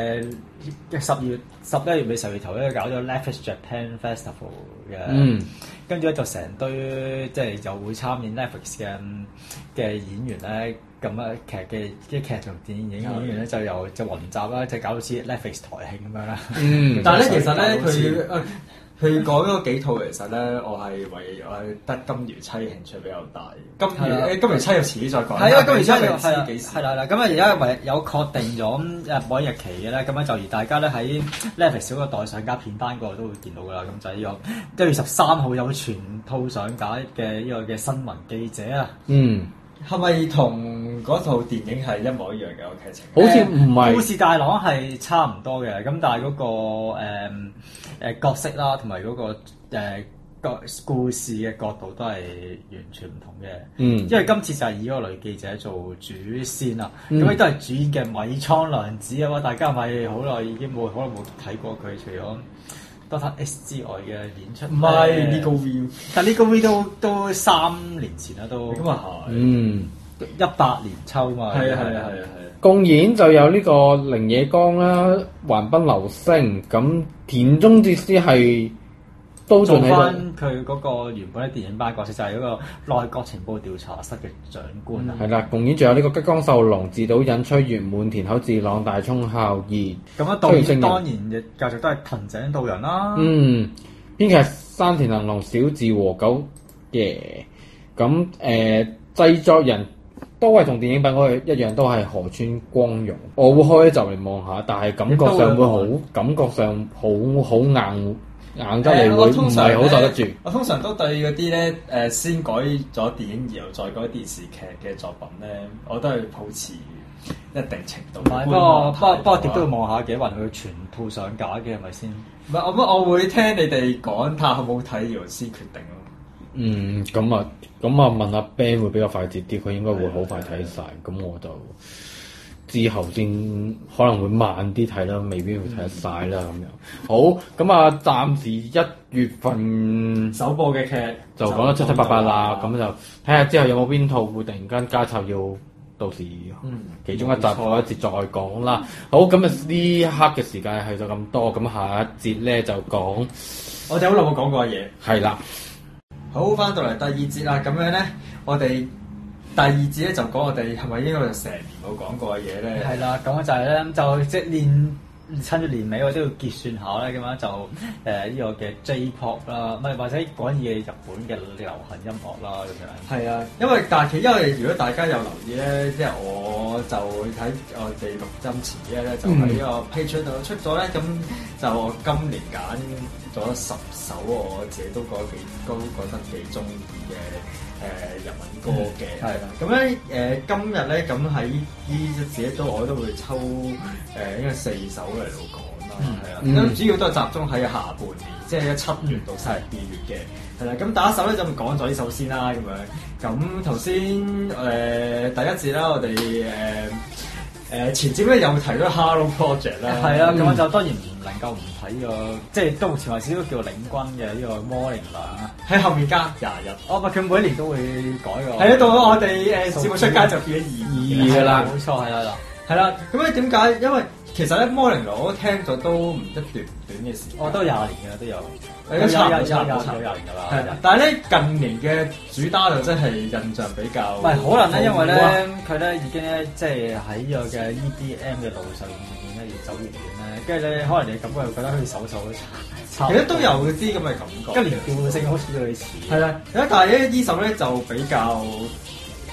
11月尾10月頭咧搞咗 Netflix Japan Festival 嘅，跟住咧就成堆即係又會參演 Netflix 嘅演員咧，咁啊劇同電影演員咧就雲集啦，就搞到似 Netflix 台慶咁樣啦。 但係咧其實咧佢講嗰幾套其實咧，我係得金魚妻興趣比較大。金魚妻又遲啲再講。係啊，金魚妻係啦。咁啊，而家有確定咗播映日期嘅咧，咁樣就而大家咧喺 Netflix 嗰個待上架片單嗰度都會見到噶啦。咁就係呢個1月13號有全套上架嘅呢個嘅新聞記者啊。 係咪同嗰套電影係一模一樣嘅個劇情？ 好似唔係。 故事大綱係差唔多嘅，咁但係嗰個角色啦，同埋嗰個故事嘅角度都係完全唔同嘅。因為今次就係以嗰個女記者做主線啦，咁亦都係主演嘅米倉涼子啊嘛，大家咪好耐已經冇睇過佢，除咗Dr. S 之外嘅演出。唔係呢個 V， 但呢個 V 都3年前啦都。咁啊係。18年秋嘛。係啊。 共演就有呢個綾野剛啦、橫濱流星，咁田中哲司係都做翻佢嗰個原本喺電影版角色，就係嗰個內閣情報調查室嘅長官啊。 係啦，共演仲有呢個吉岡秀隆、自導引吹原滿田口智朗、大涌孝義。 咁啊，導演當然嘅繼續都係藤井道人啦。 編劇山田能郎、小寺和久嘅。咁製作人都係同電影版嗰個一樣，都係河村光榮。我會開就嚟望下，但係感覺上會好硬得嚟，會唔係好受得住。 我通常都對嗰啲咧先改咗電影然後再改電視劇嘅作品咧，我都係抱持一定程度。 不過點都要望下嘅，還佢全套上架嘅係咪先？ 唔係我會聽你哋講，睇下好唔好睇，然後先決定咯。 咁啊問阿 Ben 會比較快捷啲，佢應該會好快睇晒。咁我就之後先可能會慢啲睇啦，未必會睇得晒啦咁樣。好，咁啊暫時1月份首播嘅劇就講得七七八八啦，咁就睇下之後有冇邊套會突然間加插要到時其中一集嗰一節再講啦。好，咁啊呢一刻嘅時間係就咁多，咁下一節咧就講我哋好耐冇講過嘅嘢。 係啦。 好，翻到嚟第二節啦，咁樣咧，我哋第二節咧就講我哋係咪應該就成年冇講過嘅嘢咧？ 係啦，咁就係咧，就即係趁住年尾我都要結算下咧，咁樣就呢個嘅 J-pop 啦，唔係或者講嘢日本嘅流行音樂啦咁樣。係啊， 因為如果大家有留意咧，即係我就睇我哋錄音前幾日咧，就喺呢個 Patreon 度出咗咧，咁就我今年揀咗10首我自己都覺得幾中意嘅日文歌嘅。係啦，咁咧今日咧咁喺呢自己我都會抽應該4首嚟到講啦。係啊，咁主要都係集中喺下半年，即係7月到12月嘅。係啦，咁第一首咧就講咗呢首先啦，咁樣。咁頭先第一節啦，我哋前節咧又提咗 Hello Project 啦。係啊，咁我就當然唔能夠唔睇呢個，即係都前話少都叫領軍嘅呢個魔靈娘啊。喺後面加20日。唔係佢每一年都會改㗎。係啊，到咗我哋節目出街就變咗22㗎啦。冇錯，係啦。係啦，咁咧點解？因為其實咧魔靈娘我都聽咗都唔一段短嘅時間。我都20年㗎，都有。有20年㗎啦。係啊，但係咧近年嘅主打就真係印象比較。唔係可能咧，因為咧佢咧已經咧即係喺呢個嘅 EDM 嘅路上面咧越走越遠咧，跟住咧可能你感覺又覺得好似首都差。其實都有啲咁嘅感覺。一年調性好似類似。係啦，但係咧呢首咧就比較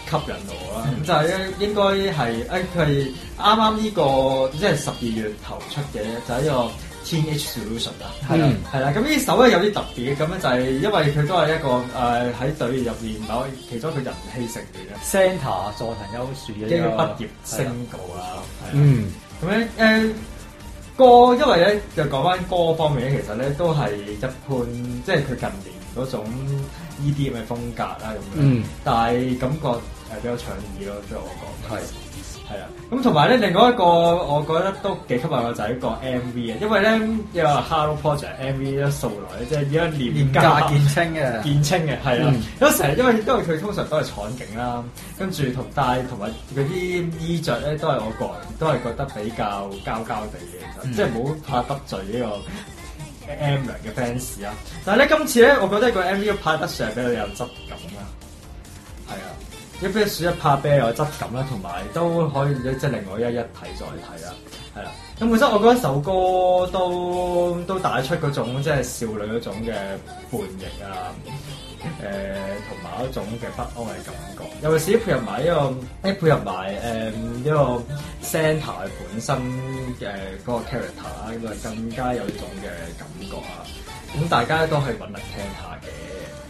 吸引我啦。咁就係咧，應該係佢係啱啱呢個即係12月頭出嘅，就係呢個 Teenage Solution 啦。係啦。咁呢首咧有啲特別嘅，咁咧就係因為佢都係一個喺隊入面其中一個人氣成員嘅 Center 佐藤優樹嘅一個畢業聲稿啦。咁咧歌，因為咧就講翻歌方面咧，其實咧都係一般，即係佢近年嗰種 EDM 嘅風格啦咁樣。但係感覺比較搶耳咯，即係我講。係啊，咁同埋咧，另外一個我覺得都幾吸引嘅就係一個 MV 啊，因為咧有 Halo Project MV 咧素來即係而家廉價見稱嘅係啦。有成日因為佢通常都係場景啦，跟住同埋佢啲衣着咧都係我個人都係覺得比較膠地嘅，即係唔好怕得罪呢個 M 娘嘅 fans 啊。但係咧今次咧，我覺得個 MV 拍得上比較有質感啦，係啊。一啤樹一拍啤有質感啦，同埋都可以即係另外一睇再睇啦，係啦。咁本身我覺得首歌都帶出嗰種即係少女嗰種嘅叛逆啊，同埋一種嘅不安嘅感覺。尤其是配合埋呢個 Center 本身嘅嗰個 character 啦，咁啊更加有呢種嘅感覺啊。咁大家都可以揾嚟聽下嘅。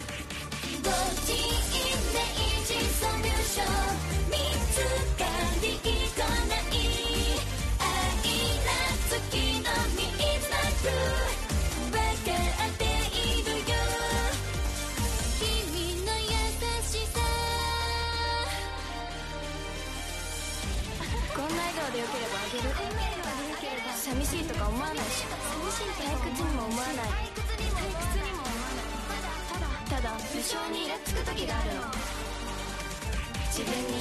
寂しいとか思わないし、退屈にも思わない。ただ無性にイラつく時があるの。自分に。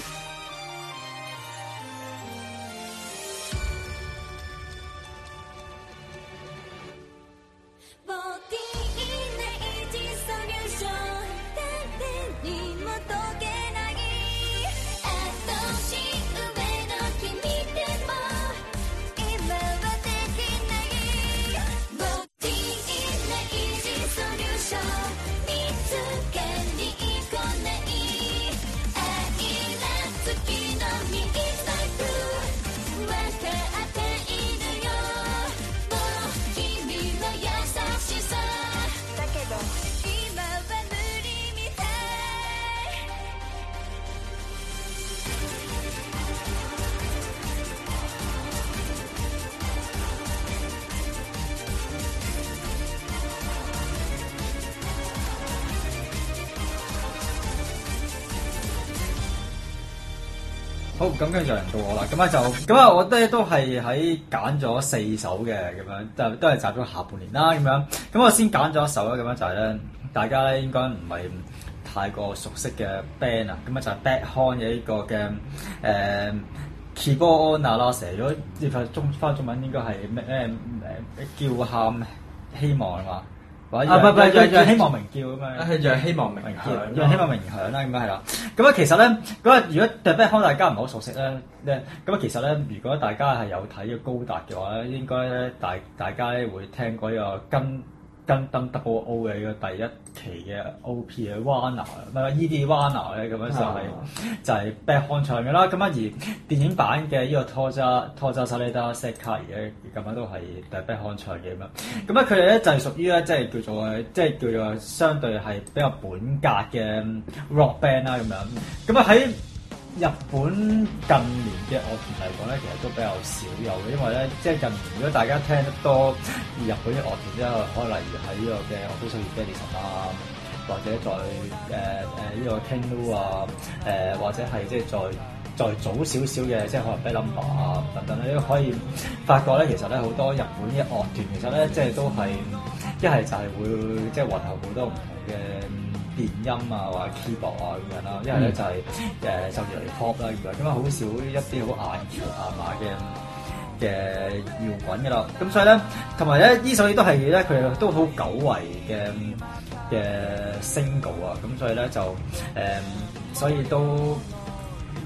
ボディイメージソリューション、誰にも解けない。年上の君でも今はできない。ボディイメージソリューション、見つけに来ない。愛らつきのミーサイク分かっているよ。もう君の優しさだけど今は無理みたい。 好，咁跟住就輪到我啦。咁啊，我都係喺揀咗4首嘅咁樣，都係集咗下半年啦咁樣。咁我先揀咗一首啦，咁樣就係咧，大家咧應該唔係太過熟悉嘅 band 啊。咁啊就係 Bad Horn 嘅呢個嘅Kibou na Nase，如果翻中文應該係咩叫喊希望係嘛？唔係，讓希望鳴叫咁樣。 係讓希望鳴叫， 讓希望鳴響啦，咁樣係啦。咁啊，其實咧，如果 The Bad Horn 大家唔係好熟悉咧，咁啊，其實咧，如果大家係有睇嘅高達嘅話咧，應該咧大家咧會聽過呢個Gundam Double O 嘅呢個第一期嘅 OP 嘅 Wanna， 唔係 ED Wanna 咧，咁樣就係 Bad Horn 唱嘅啦。咁啊，而電影版嘅呢個 Toza Saleda Sekai 嘅咁樣都係 The Bad Horn 唱嘅咁樣。咁啊，佢哋咧就係屬於咧，即係叫做相對係比較本格嘅 rock band 啦咁樣。咁啊喺日本近年嘅樂團嚟講咧，其實都比較少有嘅，因為咧，即係近年如果大家聽得多日本嘅樂團之後，可能例如喺呢個嘅《我都想要 Bellison》啊，或者在呢個 Ken-Lo 啊，或者係即係再早少少嘅，即係可能 Bad Number 啊等等咧，都可以發覺咧，其實咧好多日本嘅樂團其實咧，即係都係一係就係會即係混合好多唔同嘅電音啊，或者 keyboard 啊咁樣啦，一係咧就係甚至嚟 pop 啦咁樣，咁啊好少一啲好硬橋硬馬嘅搖滾嘅啦。咁所以咧，同埋咧呢首亦都係咧佢哋都好久違嘅 single 啊，咁所以咧就所以都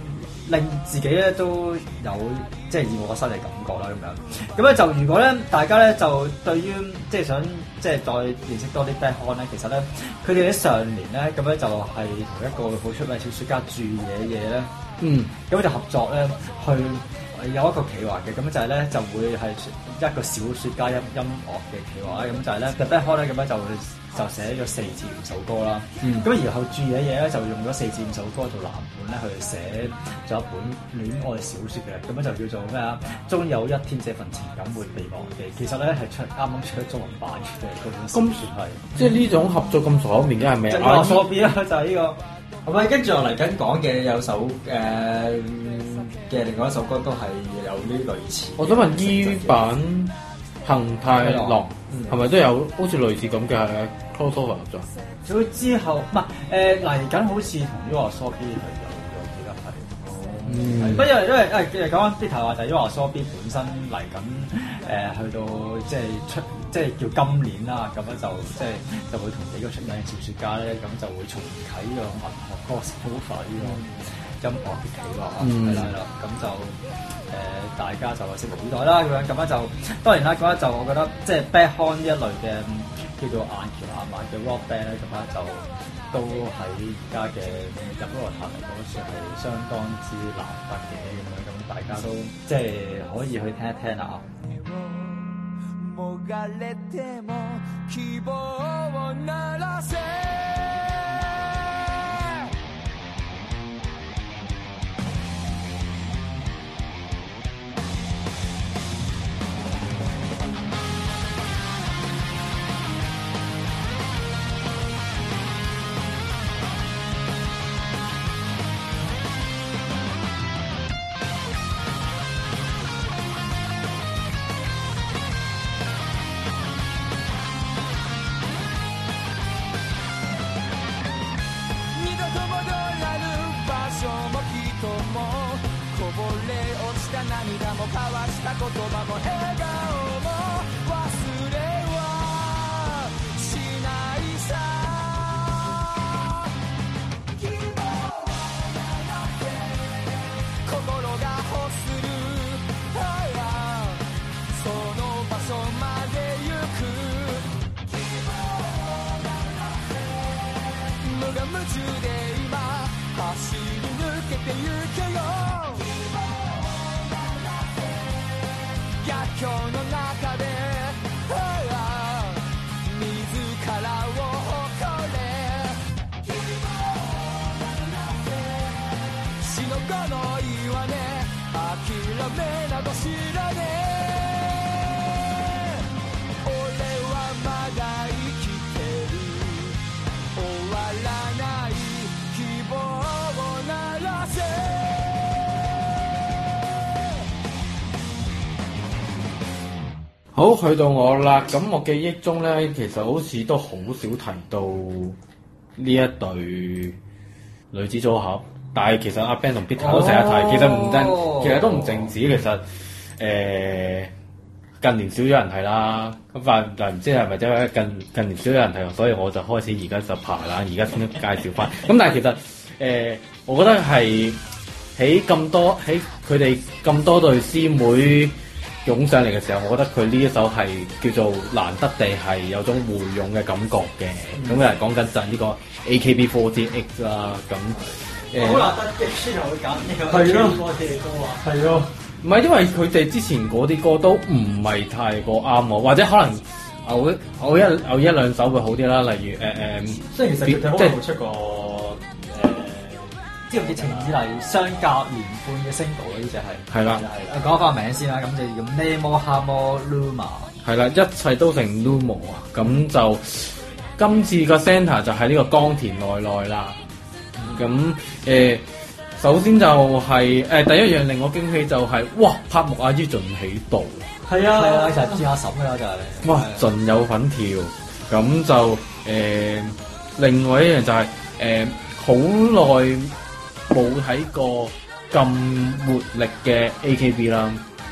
令自己咧都有即係以我身嘅感覺啦咁樣。咁咧就如果咧大家咧就對於即係想即係再認識多啲 Backhand 咧，其實咧佢哋喺上年咧咁咧就係同一個好出名小說家住野嘢咧，咁就合作咧去有一個企劃嘅，咁就係咧就會係一個小說家音樂嘅企劃啦，咁就係咧 The Backhand 咧咁樣就寫咗4至5首歌啦，咁然後住野嘢咧就用咗4至5首歌做藍本咧去寫咗一本戀愛小說嘅，咁樣就叫做咩啊？終有一天這份情感會被忘記。其實咧係啱啱出中文版嘅嗰本小說係， 即係呢種合作咁熟口面嘅係咪啊？ 阿索比啦，就係呢個。 係咪跟住我嚟緊講嘅有首嘅另外一首歌都係有呢類似。 我想問依版恒太郎係咪都有好似類似咁嘅 crossover 合作？ 佢之後唔係嚟緊，好似同呢個 YOASOBI 係有記得係。不過因為講緊啲題話就係因為 YOASOBI 本身嚟緊去到即係出即係叫今年啦，咁樣就會同幾個出名嘅小説家咧，咁就會重啟呢個文學歌手化呢個音樂嘅企劃啊，係啦，咁就大家就拭目以待啦，咁樣就當然啦，咁樣就我覺得即係 Backhand 呢一類嘅叫做硬橋硬馬嘅 rock band 咧，咁樣就都喺而家嘅入樂壇嚟講算係相當之難得嘅咁大家都即係可以去聽一聽啊。もがれても希望を鳴らせ涙も交わした言葉も笑顔も忘れはしないさ心が欲するその場所まで行く無我夢中で今走り抜けてゆけよ逆境の中で自らを誇れ死の子の岩根諦めなど知らねえ俺はまだ生きてる終わらない希望を鳴らせ好，去到我啦。咁我記憶中咧，其實好似都好少提到呢一對女子組合，但係其實阿 Ben 同 Peter 都成日提，其實都唔淨止。其實近年少咗人提啦，咁但唔知係咪因為近年少咗人提，所以我就開始而家就爬啦，而家先介紹翻。咁但係其實我覺得係喺佢哋咁多對師妹湧上嚟嘅時候，我覺得佢呢一首係叫做難得地係有種回勇嘅感覺嘅。咁又係講緊就係呢個 AKB48 啦。咁好難得嘅，先又會揀呢個 AKB48 嘅歌啊。 係咯，唔係因為佢哋之前嗰啲歌都唔係太過啱我，或者可能偶一兩首會好啲啦。例如雖然其實佢哋好耐冇出過。 知唔知程以嚟相隔年半嘅 single 呢隻係？ 係啦， 講翻個名先啦，咁就叫 Nemo Hamo Luma。係啦，一切都成 Lumo 啊！咁就今次個 centre 就係呢個岡田奈奈啦。咁首先就係第一樣令我驚喜就係哇，柏木阿姨盡喺度。係啊， 就係轉下審㗎啦，就係。 哇，盡有份跳。咁就另外一樣就係好耐冇睇過咁活力嘅 AKB 啦，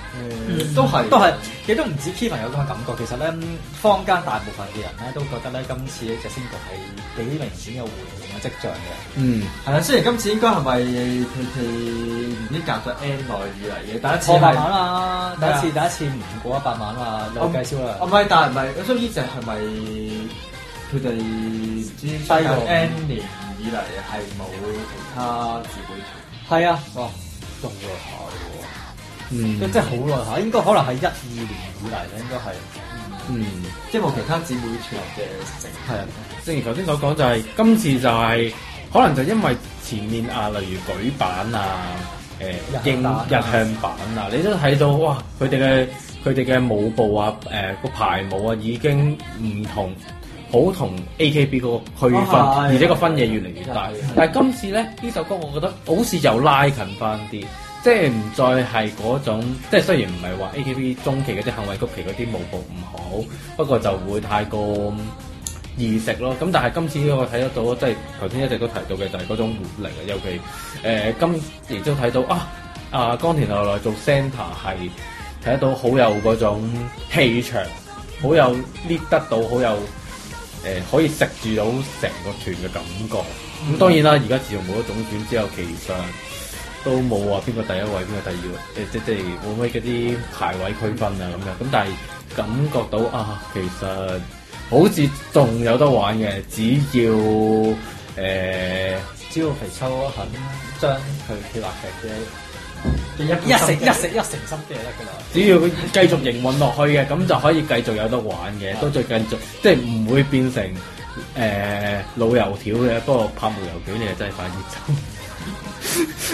都係，其實都唔止 Kevin 有咁嘅感覺。其實咧，坊間大部分嘅人咧都覺得咧，今次呢隻 single 係幾明顯有回應嘅跡象嘅。 係啦，雖然今次應該係咪佢唔知隔咗 N 耐以嚟嘅第一次過百萬啦，第一次唔過100萬嘛，有計銷啦。 唔係，但係唔係，所以呢隻係咪佢哋唔知低過 N 年以嚟係冇其他姊妹團？ 係啊，哇，仲耐下喎。即係好耐下，應該可能係12年以嚟咧，應該係， 即係冇其他姊妹團嘅成。 係啊，正如頭先所講，就係今次就係可能就因為前面啊，例如舉版啊、日向版啊，你都睇到哇，佢哋嘅舞步啊、個排舞啊已經唔同，好同 AKB 嗰個區分，而且個分野越嚟越大。但係今次咧呢首歌，我覺得好似又拉近翻啲。即係唔再係嗰種，即係雖然唔係話 AKB 中期嗰啲幸運曲奇嗰啲舞步唔好，不過就會太過易食咯。咁但係今次我睇得到，即係頭先一直都提到嘅就係嗰種活力啊。尤其今亦都睇到岡田奈奈做 center 係睇得到好有嗰種氣場，好有 lead 得到，好有可以食住到成個團嘅感覺。咁當然啦，而家自從冇咗總選之後，其實都冇話邊個第一位，邊個第二位，即係會唔會嗰啲排位區分啊咁樣。咁但係感覺到其實好似仲有得玩嘅，只要肥秋肯將佢企劃劇嘅一成心機就得㗎啦。 只要佢繼續營運落去嘅，咁就可以繼續有得玩嘅，都再繼續，即係唔會變成老油條嘅。不過拍無油條你係真係快啲走。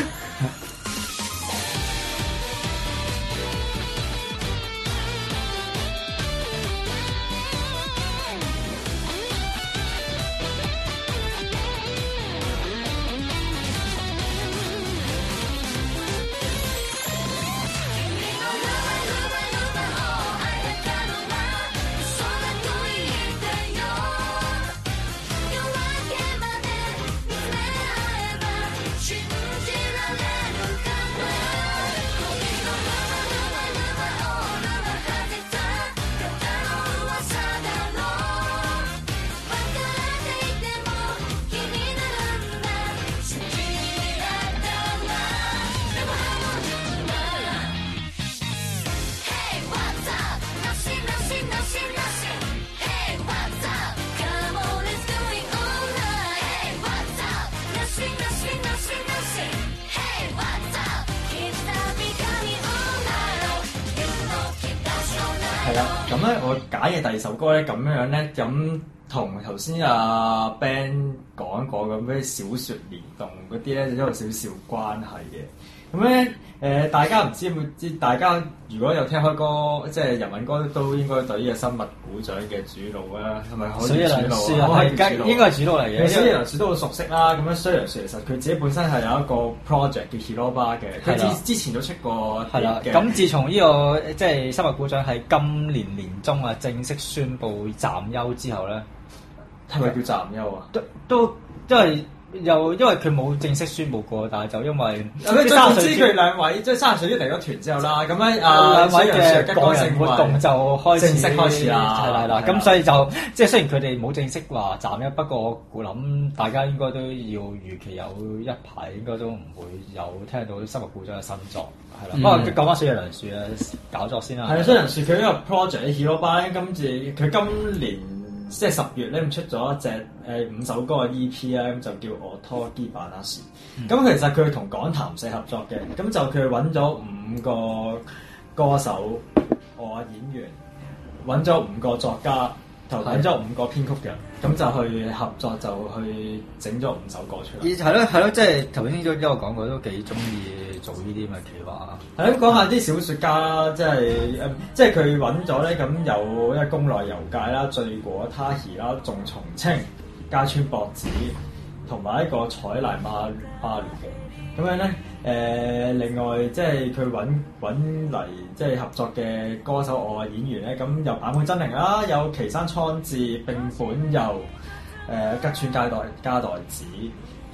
咁咧，我揀嘅第二首歌咧，咁樣咧，咁同頭先阿 Ben 講過咁咩小説連動嗰啲咧，就有少少關係嘅。咁咧，大家唔知有冇知？大家如果有聽開歌，即係日文歌，都應該對呢個生物股長嘅主腦啦，係咪可以主腦？我係應該係主腦嚟嘅。 水野良樹都好熟悉啦。咁樣水野良樹其實佢自己本身係有一個 project 叫 Hiroba 嘅，佢之前都出過係啦。咁自從呢個即係生物股長喺今年年中啊正式宣布暫休之後咧， 係咪叫暫休啊？ 都因為佢冇正式宣佈過，但係就因為總之佢兩位即係30歲啲離咗團之後啦，咁咧兩位嘅個人活動就正式開始啦， 係啦，咁所以就即係雖然佢哋冇正式話暫休，不過我諗大家應該都要預期有一排應該都唔會有聽到生物股長嘅新作，係啦。不過講翻水野良樹嘅搞作先啦。係啊， 水野良樹佢呢個 project Hiroba 今次佢今年即係10月咧，出咗一隻5首歌嘅 EP 咧，咁就叫我拖基板那時。咁其實佢同講談社合作嘅，咁就佢揾咗5個歌手、演員，揾咗5個作家，就揾咗5個編曲嘅，咁就去合作，就去整咗5首歌出嚟。 係咯，即係頭先都有講過，都幾中意做呢啲咁嘅企劃。 係咁講下啲小説家啦，即係佢揾咗咧，咁有一個宮內悠介啦、醉果他兒啦、仲松青、加川博子，同埋一個採瀨馬巴魯嘅。咁樣咧，另外即係佢揾嚟即係合作嘅歌手、演員咧，咁有坂本真绫啦，有岐山蒼志、並本佑、吉川加代子。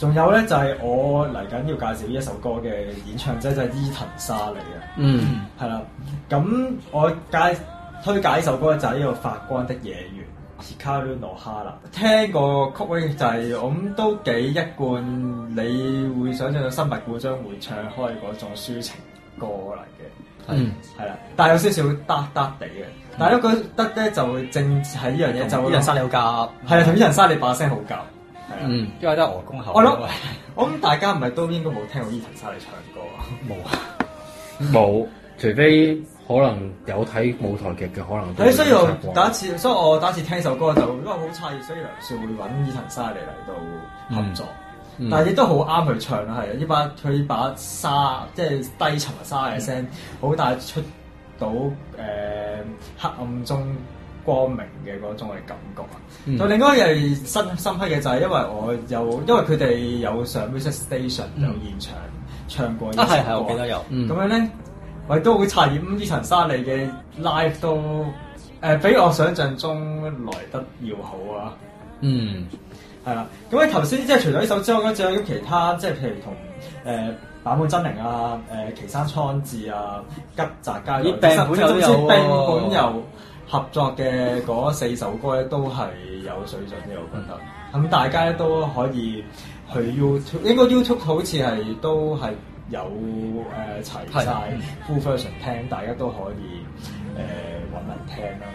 仲有咧就係我嚟緊要介紹呢一首歌嘅演唱者就係伊藤沙莉啊，係啦。咁我推介呢首歌就係呢個發光的野猿 Hikaru no Hara。聽個曲咧就係我諗都幾一貫，你會想象到新白古將會唱開嗰種抒情歌嚟嘅，係啦。但係有少少得地嘅，但係咧覺得咧就正係呢樣嘢就伊藤沙莉好夾，係啊，同伊藤沙莉把聲好夾。 因為都係鵝公口。 我諗大家唔係都應該冇聽過伊藤沙莉唱歌啊？ 冇啊，冇，除非可能有睇舞台劇嘅，可能都。 所以我第一次聽首歌就因為好詫異，所以梁少會揾伊藤沙莉嚟到合作，但係亦都好啱佢唱啦，係啊！佢把沙即係低沉嘅沙嘅聲，好帶出到黑暗中光明嘅嗰種嘅感覺啊！就另外一樣深刻嘅就係因為佢哋有上 music station 有現場唱過呢首歌， 係我記得有。 咁樣咧，我亦都好詫異，伊藤沙莉嘅 live 都比我想象中來得要好啊！係啦，咁喺頭先即係除咗呢首之外，仲有其他即係譬如同坂本真绫啊、岐山蒼智啊、吉澤嘉代，並本有合作嘅嗰4首歌咧，都係有水準嘅，我覺得。咁大家咧都可以去 YouTube， 應該 YouTube 好似係都係有齊晒 full version 聽，大家都可以揾嚟聽啦。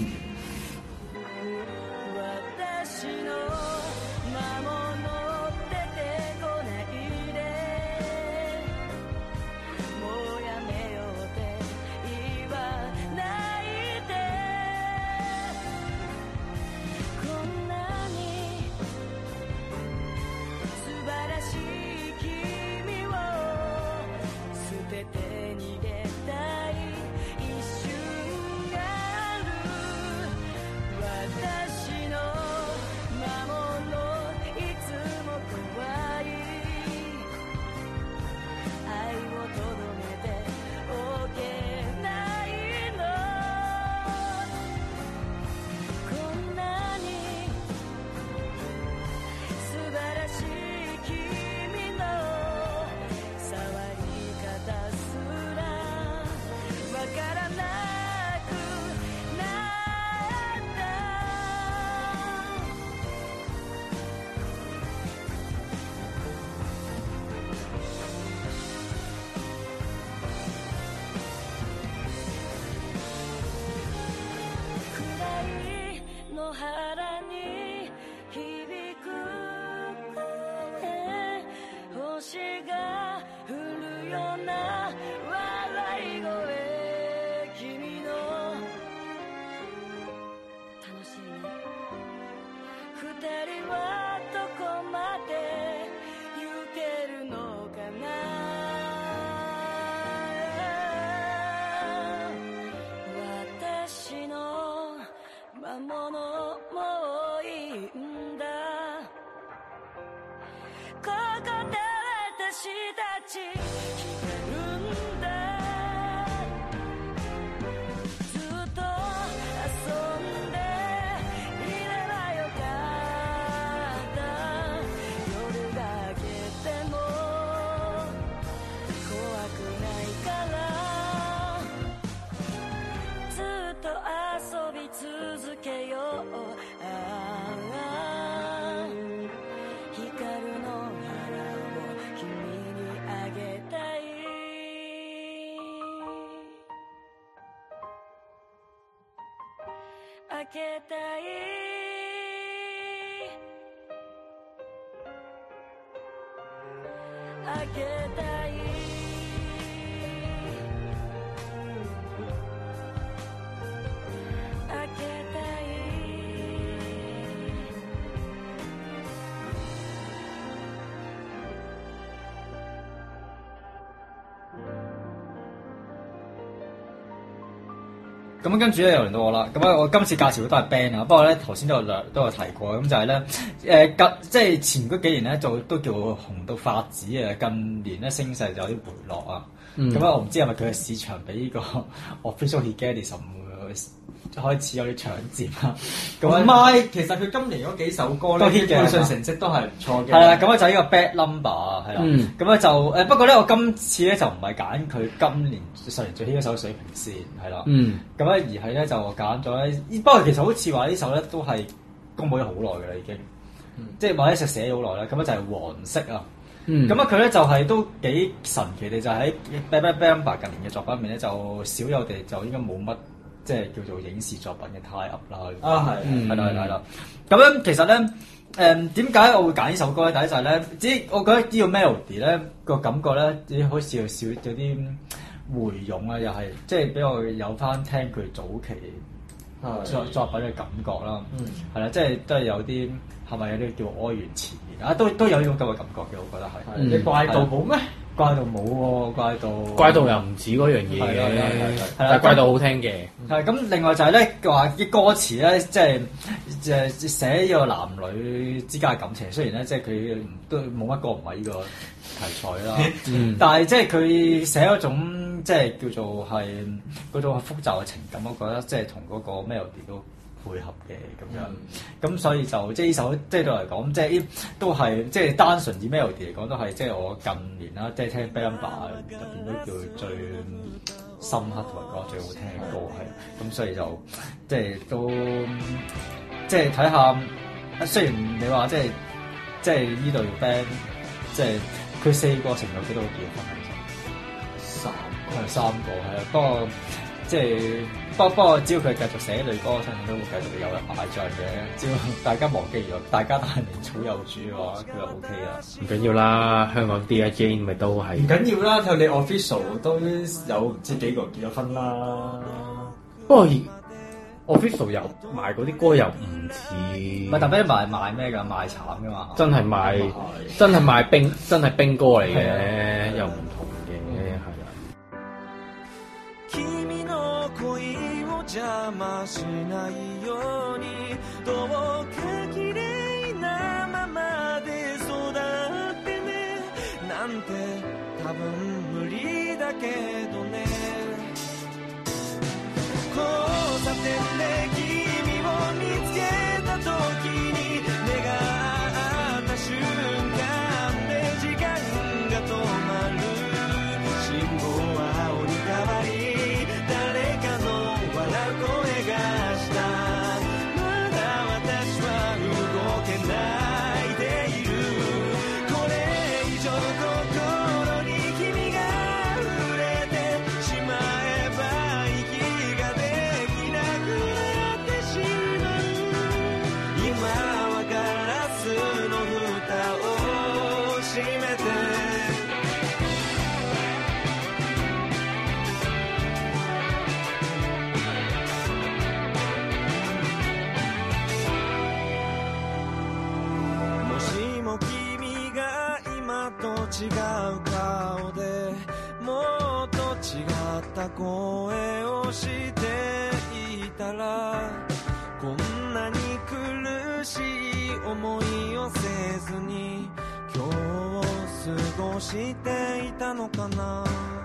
開けたい開けたい開けたい咁跟住咧又輪到我啦，咁我今次介紹都係 band 啊，不過咧頭先都有提過，咁就係咧即係前嗰幾年咧就都叫紅到發紫啊，近年咧聲勢就有啲回落啊，咁我唔知係咪佢嘅市場比呢個 Official Higarism 開始有啲搶佔啦。 咁唔係，其實佢今年嗰幾首歌咧，基本上成績都係唔錯嘅。 係啦，咁啊就呢個 Bad Number 係啦，咁咧就不過咧我今次咧就唔係揀佢今年上年最 hit 嗰首水平線係啦，咁咧而係咧就揀咗咧，不過其實好似話呢首咧都係公佈咗好耐㗎啦已經，即係或者寫咗好耐啦，咁咧就係黃色啊。咁啊佢咧就係都幾神奇地就喺 Bad Number 近年嘅作品入面咧就少有地就應該冇乜即係叫做影視作品嘅 tie up 啦。係啦。咁樣其實咧點解我會揀呢首歌咧？第一就係咧，我覺得呢個 melody 咧個感覺咧，好似有啲回湧啊，又係即係俾我有翻聽佢早期作品嘅感覺啦。係啦，即係都係有啲係咪有啲叫哀怨纏綿啊？都有呢種咁嘅感覺嘅，我覺得係。 你怪盜冇咩？ 怪盜冇喎， 怪盜又唔似嗰樣嘢嘅，但係怪盜好聽嘅。 係咁，另外就係咧話啲歌詞咧，即係寫呢個男女之間嘅感情。雖然咧，即係佢都冇乜歌唔係呢個題材啦，但係即係佢寫嗰種即係叫做係嗰種複雜嘅情感，我覺得即係同嗰個 melody 都配合嘅咁樣，咁所以就即係呢首即係對我嚟講，即係都係即係單純以 melody 嚟講，都係即係我近年啦，即係聽 Bad Number 入邊都叫最深刻同埋覺得最好聽嘅歌係，咁所以就即係都即係睇下，雖然你話即係呢隊 band 即係佢4個成有幾多個結婚係3個係啊，不過即係。不過只要佢繼續寫女歌，我相信都會繼續有人買帳嘅。只要大家忘記咗，大家都係名草有主嘅話，佢就 OK 啦。 唔緊要啦，香港 DJ 咪都係。 唔緊要啦，佢哋 official 都有唔知幾個結咗婚啦。 不過 official 又賣嗰啲歌又唔似。 唔係特別賣咩㗎？賣慘㗎嘛。真係賣冰，真係冰歌嚟嘅，又唔同嘅，係啦。 邪魔しないようにどうか綺麗なままで育ってねなんて多分無理だけどね交差点で君を見つけた時に目が合った瞬間で時間が止まる信号は青に変わり声がしたまだ私は動けないでいるこれ以上心に君が触れてしまえば息ができなくなってしまう今はガラスの蓋を閉めて違う顔でもっと違った声をしていたらこんなに苦しい思いをせずに今日を過ごしていたのかな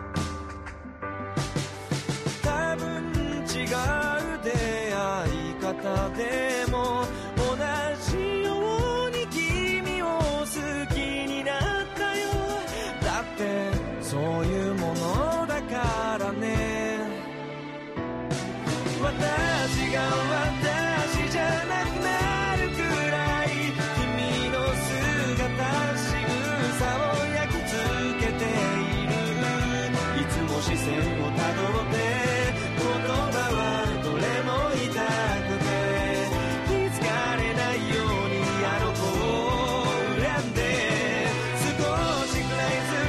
多分違う出会い方でも同じように君を好きになっただってそういうものだからね私が私じゃなくなるくらい君の姿仕草を焼き付けているいつも視線をたどって言葉はどれも痛くて気づかれないようにあの子を恨んで少しくらいず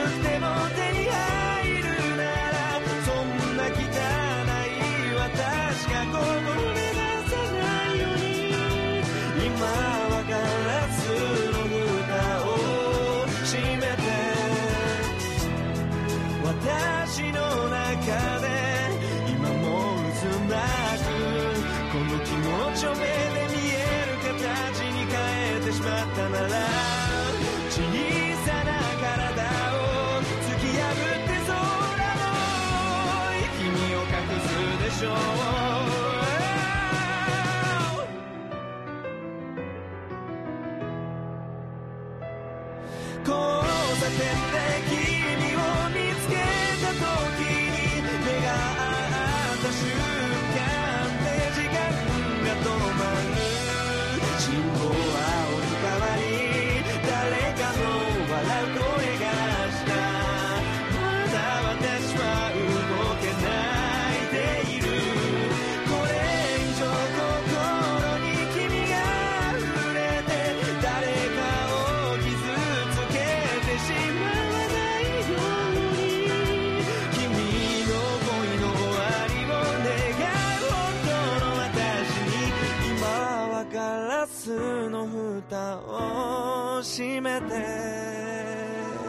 私がこぼれ出さないように今はガラスの蓋を閉めて私の中で今も渦巻くこの気持ちを目で見える形に変えてしまったなら小さな体を突き破って空の君を隠すでしょう交差点で君を見つけた時に目が合った瞬間で時間が止まる信号は青に変わり誰かの笑う声がしたまだ私は動けないでいるこれ以上心に君が触れて誰かを傷つけてしまわないように君の恋の終わりを願う本当の私に今はガラスの蓋を閉めて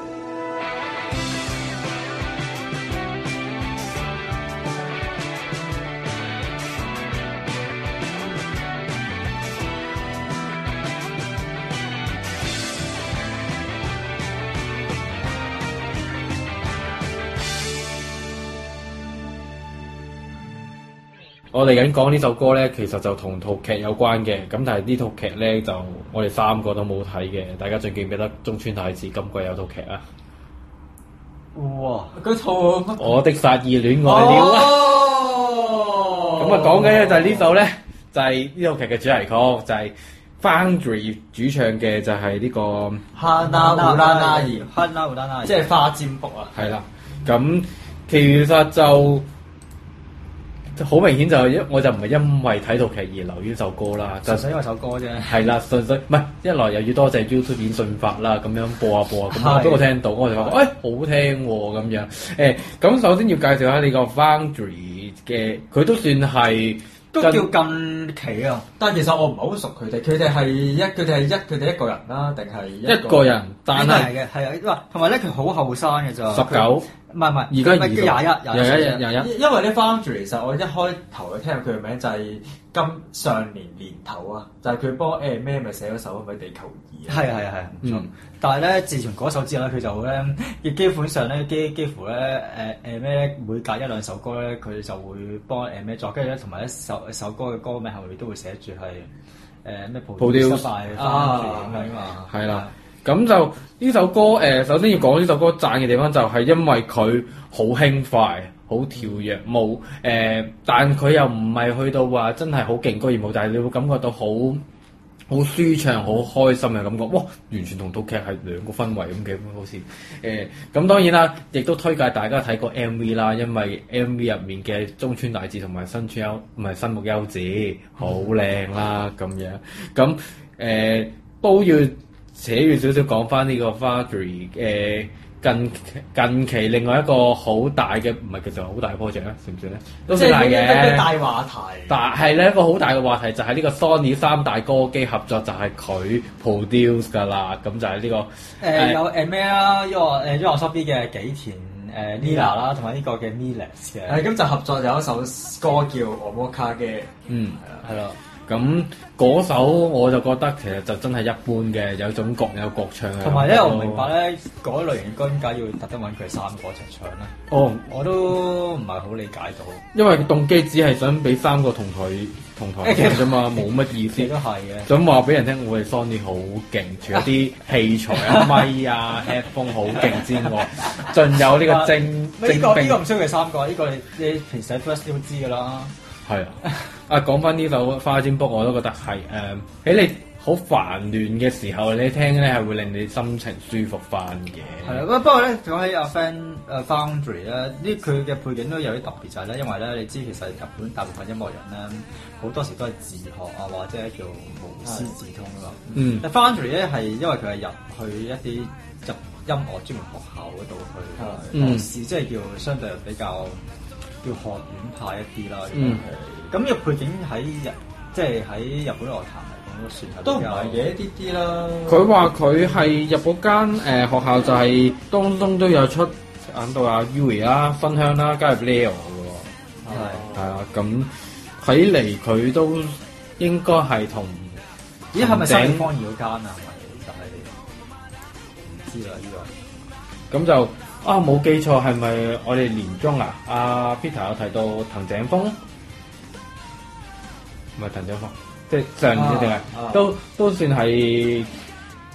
我哋緊講呢首歌咧，其實就同套劇有關嘅，咁但係呢套劇咧就我哋三個都冇睇嘅，大家仲記唔記得中村太子今季有套劇啊？ 哇！ 嗰套我的殺意戀愛了啊！咁啊講緊咧就係呢首咧，就係呢套劇嘅主題曲，就係 Foundry 主唱嘅就係呢個哈娜烏拉那兒， 哈娜烏拉那兒， 即係花占卜啊！ 係啦，咁其實就好明顯就我就唔係因為睇套劇而留意呢首歌啦，就純粹因為首歌啫。 係啦，純粹唔係一來又要多謝 YouTube 演算法啦，咁樣播下播下，咁我俾我聽到，我就發覺好聽喎咁樣。咁首先要介紹下呢個 Foundry 嘅，佢都算係都叫近期啊， 但係其實我唔係好熟佢哋，佢哋係一個人啦，定係一個人？但係係啊，同埋咧佢好後生嘅咋 ，19。 唔係， 而家 21，因為咧 Foundry 其實我一開頭聽佢嘅名就係上年年頭啊，就係佢幫咩咪寫咗首係咪地球儀啊？ 係，唔錯。但係咧，自從嗰首之後咧，佢就咧，基本上咧，幾乎咧，咩每隔一兩首歌咧，佢就會幫咩作，跟住咧，同埋一首歌嘅歌名後面都會寫住係咩 produce by Foundry 咁樣嘛。係啦。 咁就呢首歌首先要講呢首歌讚嘅地方就係因為佢好輕快、好跳躍，冇但佢又唔係去到話真係好勁歌熱舞，但係你會感覺到好舒暢、好開心嘅感覺。哇！完全同套劇係兩個氛圍咁嘅，好似咁當然啦，亦都推介大家睇個 MV 啦，因為 MV 入面嘅中村大志同埋新木優子好靚啦咁樣，咁都要扯遠少少講翻呢個 Foundry 近期另外一個好大嘅，唔係其實好大嘅 project 咧，算唔算咧？都算大嘅。 大話題。 但係咧一個好大嘅話題就係呢個 Sony 三大歌姬合作，就係佢 produce 㗎啦。咁就係呢個有咩啦？YOASOBI 嘅幾田Lila 啦，同埋呢個嘅 Miles 嘅。 咁就合作有一首歌叫《Omoka》嘅。 係啦。咁嗰首我就覺得其實就真係一般嘅，有種各有各唱嘅。 同埋咧，我唔明白咧，嗰類型嘅歌點解要特登揾佢三個一齊唱咧？我都唔係好理解到。因為動機只係想俾三個同台唱啫嘛，冇乜意思。 都係嘅。 想話俾人聽，我哋 Sony 好勁，除咗啲器材啊、咪啊、headphone 好勁之外，仲有呢個精兵。 呢個唔需要佢三個，呢個你平時喺 First 都知㗎啦。 係啊，講翻呢首花占卜，我都覺得係喺你好煩亂嘅時候，你聽咧係會令你心情舒服翻嘅。 係啦，不過咧講起阿 Foundry 咧，呢佢嘅背景都有啲特別，就係咧，因為咧你知其實日本大部分音樂人咧好多時都係自學啊，或者叫無師自通㗎嘛。但 Foundry 咧係因為佢係入去一啲音樂專門學校嗰度去學試，即係叫相對比較叫學院派一啲啦。咁呢個背景喺日本樂壇嚟講都算係都唔係嘅一啲啦。 佢話佢係入嗰間學校就係當中都有出引到阿 Yui 啦、分香啦、加入 Leo 嘅喎。係啊，咁睇嚟佢都應該係同係咪新方二嗰間啊？係咪就係唔知啦呢個。 咁就冇記錯係咪我哋年中啊？阿 Peter 有提到藤井風。唔係藤井風，即係上年定係都算係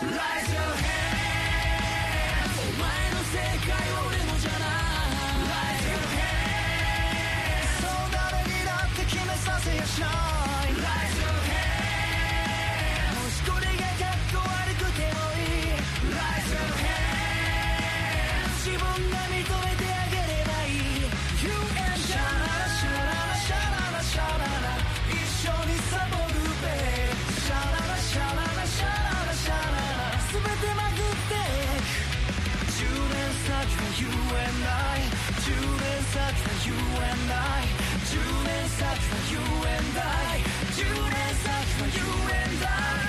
Raise your hand お前の世界は俺のじゃない Raise your hand そう誰にだって決めさせやしない Raise your hand もしこれがかっこ悪くてもいい Raise your hand 自分が認めてあげればいい You and シャララシャララシャララシャララ一緒にサボるべシャララシャララシャララシャララ全てまくって10年先は You and I 10年先は You and I 10年先は You and I 10年先は You and I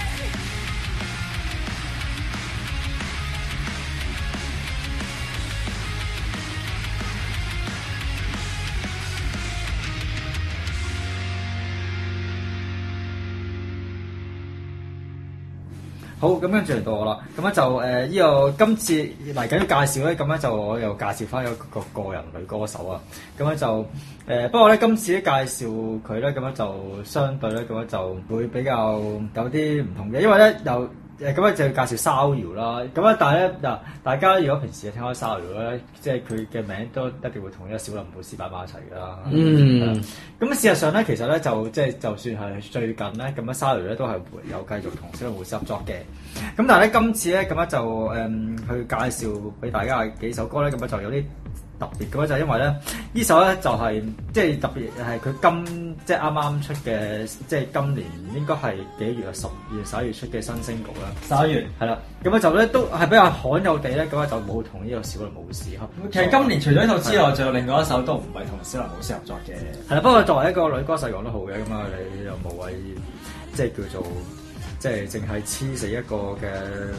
好，咁跟住嚟到我啦，咁咧就呢個今次嚟緊嘅介紹咧，咁咧就我又介紹翻一個個人女歌手啊，咁咧就不過咧今次咧介紹佢咧，咁樣就相對咧咁樣就會比較有啲唔同嘅，因為咧又咁咧就要介紹騷擾啦，咁咧但係咧嗱，大家如果平時聽開騷擾咧，即係佢嘅名都一定會同呢個小林寶斯擺埋一齊㗎啦。嗯。咁事實上咧，其實咧就即係就算係最近咧咁樣騷擾咧都係有繼續同小林寶斯合作嘅。咁但係咧今次咧咁樣就去介紹俾大家幾首歌咧，咁樣就有啲特別嘅，就係因為咧呢首咧就係即係特別係佢即係啱啱出嘅，即係今年應該係幾月啊？10月、11月出嘅新星曲啦。11月係啦，咁樣就咧都係比較罕有地咧，咁樣就冇同呢個小林寶斯合。 其實今年除咗呢套之外，仲有另外一首都唔係同小林寶斯合作嘅。 係啦，不過作為一個女歌手講得好嘅，咁啊你又無謂即係叫做即係淨係黐死一個嘅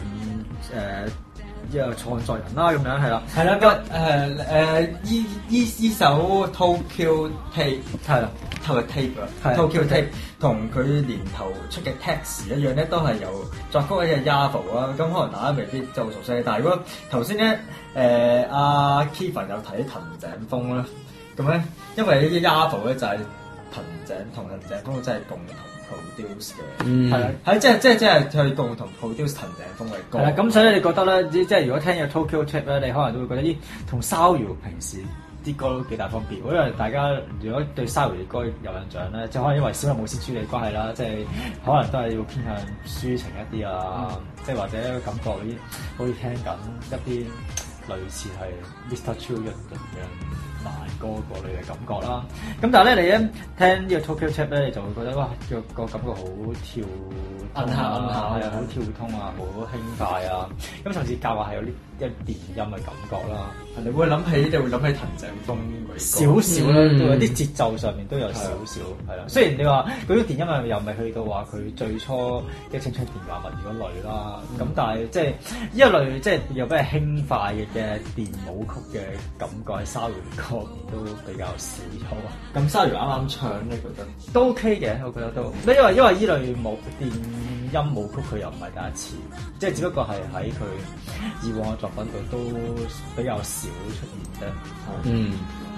一個創作人啦，咁樣係啦， 係啦，依首 Tokyo Tape 係啦 ，Tokyo Tape 同佢年頭出嘅 Taxi 一樣咧，都係由作曲嘅 Yavo 啊，咁可能大家未必就好熟悉，但係如果頭先咧阿 Kevin 有睇藤井風啦，咁咧因為呢啲 Yavo 咧就係藤井風真係共同produce 嘅，係啦，係即係去共同 produce 藤井風嘅歌。係啦，咁所以你覺得咧，即係如果聽嘅 Tokyo Tape 咧，你可能都會覺得咦，同騷擾平時啲歌都幾大分別。因為大家如果對騷擾嘅歌有印象咧，就可能因為小林寶斯處理關係啦，即係可能都係要偏向抒情一啲啊，即係或者感覺好似聽緊一啲類似係 Mr. Children 咁樣慢歌嗰類嘅感覺啦，咁但係咧你一聽呢個 Tokyo Tape 咧，你就會覺得哇個感覺好跳動啊，係啊，好跳通啊，好輕快啊，咁甚至教話係有啲一電音嘅感覺啦。 你會諗起藤井風少少啦，都有啲節奏上面都有少少係啦。雖然你話嗰啲電音又未去到話佢最初嘅青春電話物語嗰類啦，咁但係即係呢一類即係又比較輕快嘅電舞曲嘅感覺喺騷擾歌都比較少咗。 咁騷擾啱啱唱咧，覺得都 OK 嘅，我覺得都。因為呢類電音舞曲佢又唔係第一次，即係只不過係喺佢以往嘅作品度都比較少出現啫。嗯。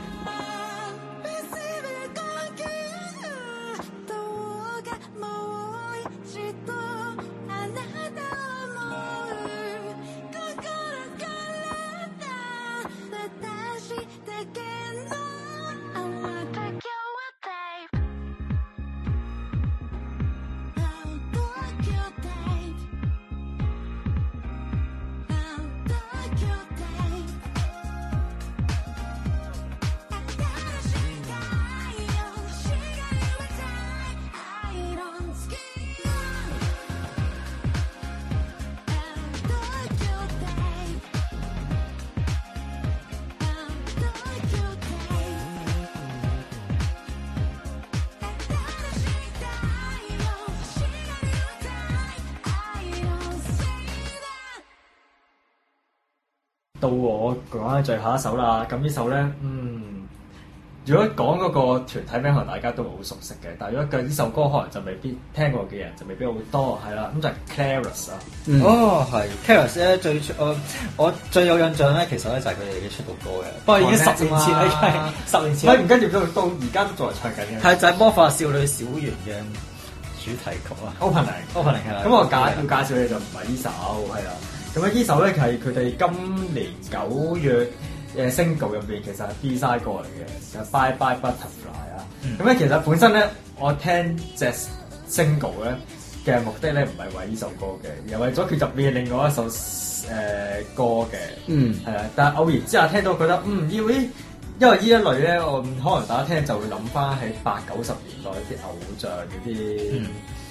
到我講緊最後一首啦，咁呢首咧，如果講嗰個團體名，可能大家都好熟悉嘅，但係如果呢首歌可能就未必聽過嘅人就未必好多，係啦，咁就係 Careless 啊。 哦，係 Careless 咧，我最有印象咧，其實咧就係佢哋嘅出道歌嘅，不過已經10年前啦，10年前。 唔跟住到而家都仲係唱緊嘅。 係就係魔法少女小圓嘅主題曲啊 opening 係啦。 咁我要介紹嘅就唔係呢首係啦。咁咧呢首咧係佢哋今年9月single 入邊其實係 B-side 歌嚟嘅，就 Bye Bye Butterfly 啊。咁咧其實本身咧我聽隻 single 咧嘅目的咧唔係為呢首歌嘅，而係為咗佢入面另外一首歌嘅。係啊，但係偶然之下聽到覺得要呢。因為呢一類咧，我可能大家聽就會諗翻喺80-90年代啲偶像嗰啲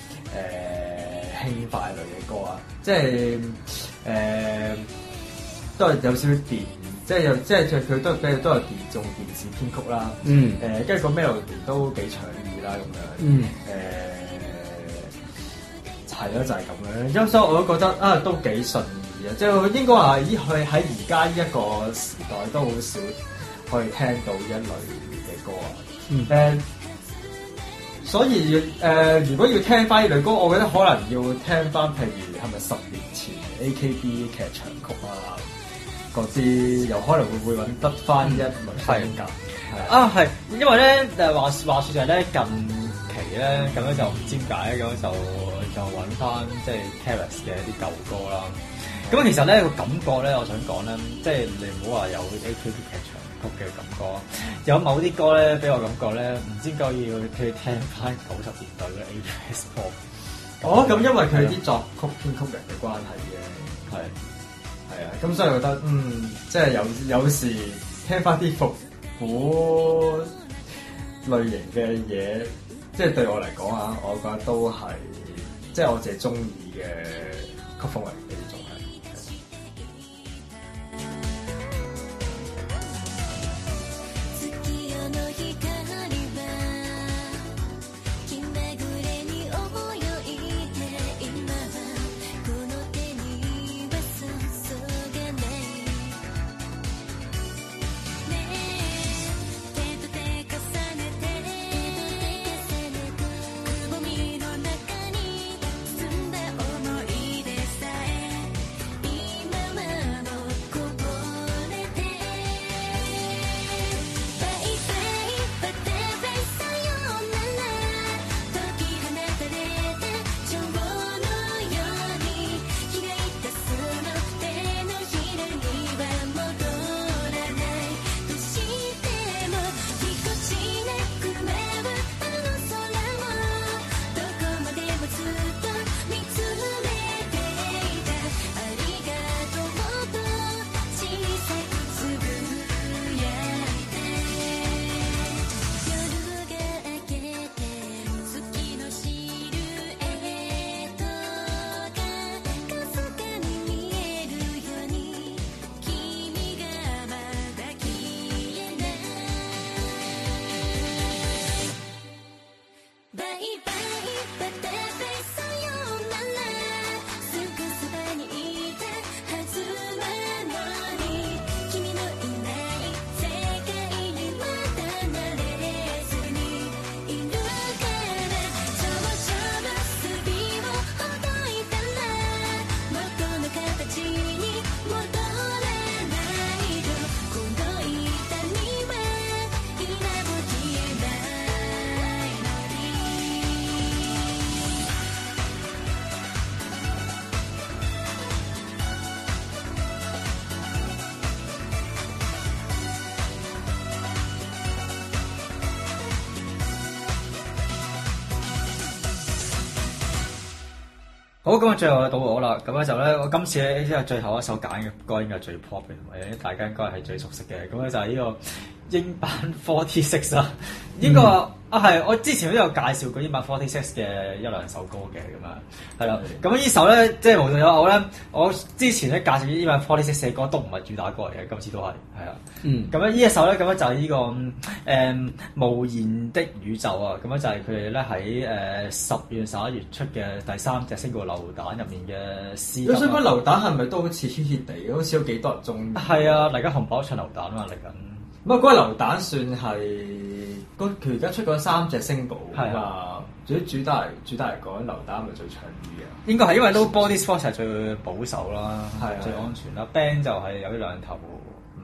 輕快類嘅歌啊，即係都係有少少電，即係佢都係用電視編曲啦。跟住個 melody 都幾搶耳啦咁樣。係咯，就係咁樣。因所以我都覺得都幾順耳啊，即係應該話佢喺而家呢一個時代都好少可以聽到呢一類嘅歌啊，所以如果要聽翻呢類歌，我覺得可能要聽翻譬如係咪10年前 AKB 劇場曲啊嗰啲，有可能會揾得翻一類風格。 係，因為咧話説就係咧近期咧咁樣就唔知點解咁就揾翻即係 Terrace 嘅一啲舊歌啦。咁其實咧個感覺咧，我想講咧，即係你唔好話有 AKB 劇場曲嘅感覺，有某啲歌咧俾我感覺咧，唔知點解要去聽翻90年代嘅 ABS pop。 咁因為佢啲作曲編曲人嘅關係嘅，係啊，咁所以我覺得即係有時聽翻啲復古類型嘅嘢，即係對我嚟講啊，我覺得都係即係我自己中意嘅曲風嚟嘅呢種係。 好，咁啊，最後到我啦。咁咧就咧，我今次咧即係最後一首揀嘅歌，應該係最 pop 嘅，同埋大家應該係最熟悉嘅。咁咧就係呢個英版46啊。呢個係我之前都有介紹過英版46嘅1-2首歌嘅咁樣，係啦。咁呢首咧，即係無獨有偶咧，我之前咧介紹英版46嘅歌都唔係主打歌嚟嘅，今次都係啊。咁咧呢一首咧，咁樣就係呢個無言的宇宙啊。咁樣就係佢哋咧喺10月11月出嘅第3隻single流彈入面嘅詩。 我想講流彈係咪都好似 hit 地，好似有幾多人中意？ 係啊，嚟緊紅寶唱流彈啊，嚟緊。 唔係嗰個流彈算係佢而家出嗰3隻 single 啊嘛，主打嚟講，流彈係咪最搶耳啊？ 應該係因為都 Body Sport 係最保守啦， 係最安全啦。Band 就係有啲兩頭唔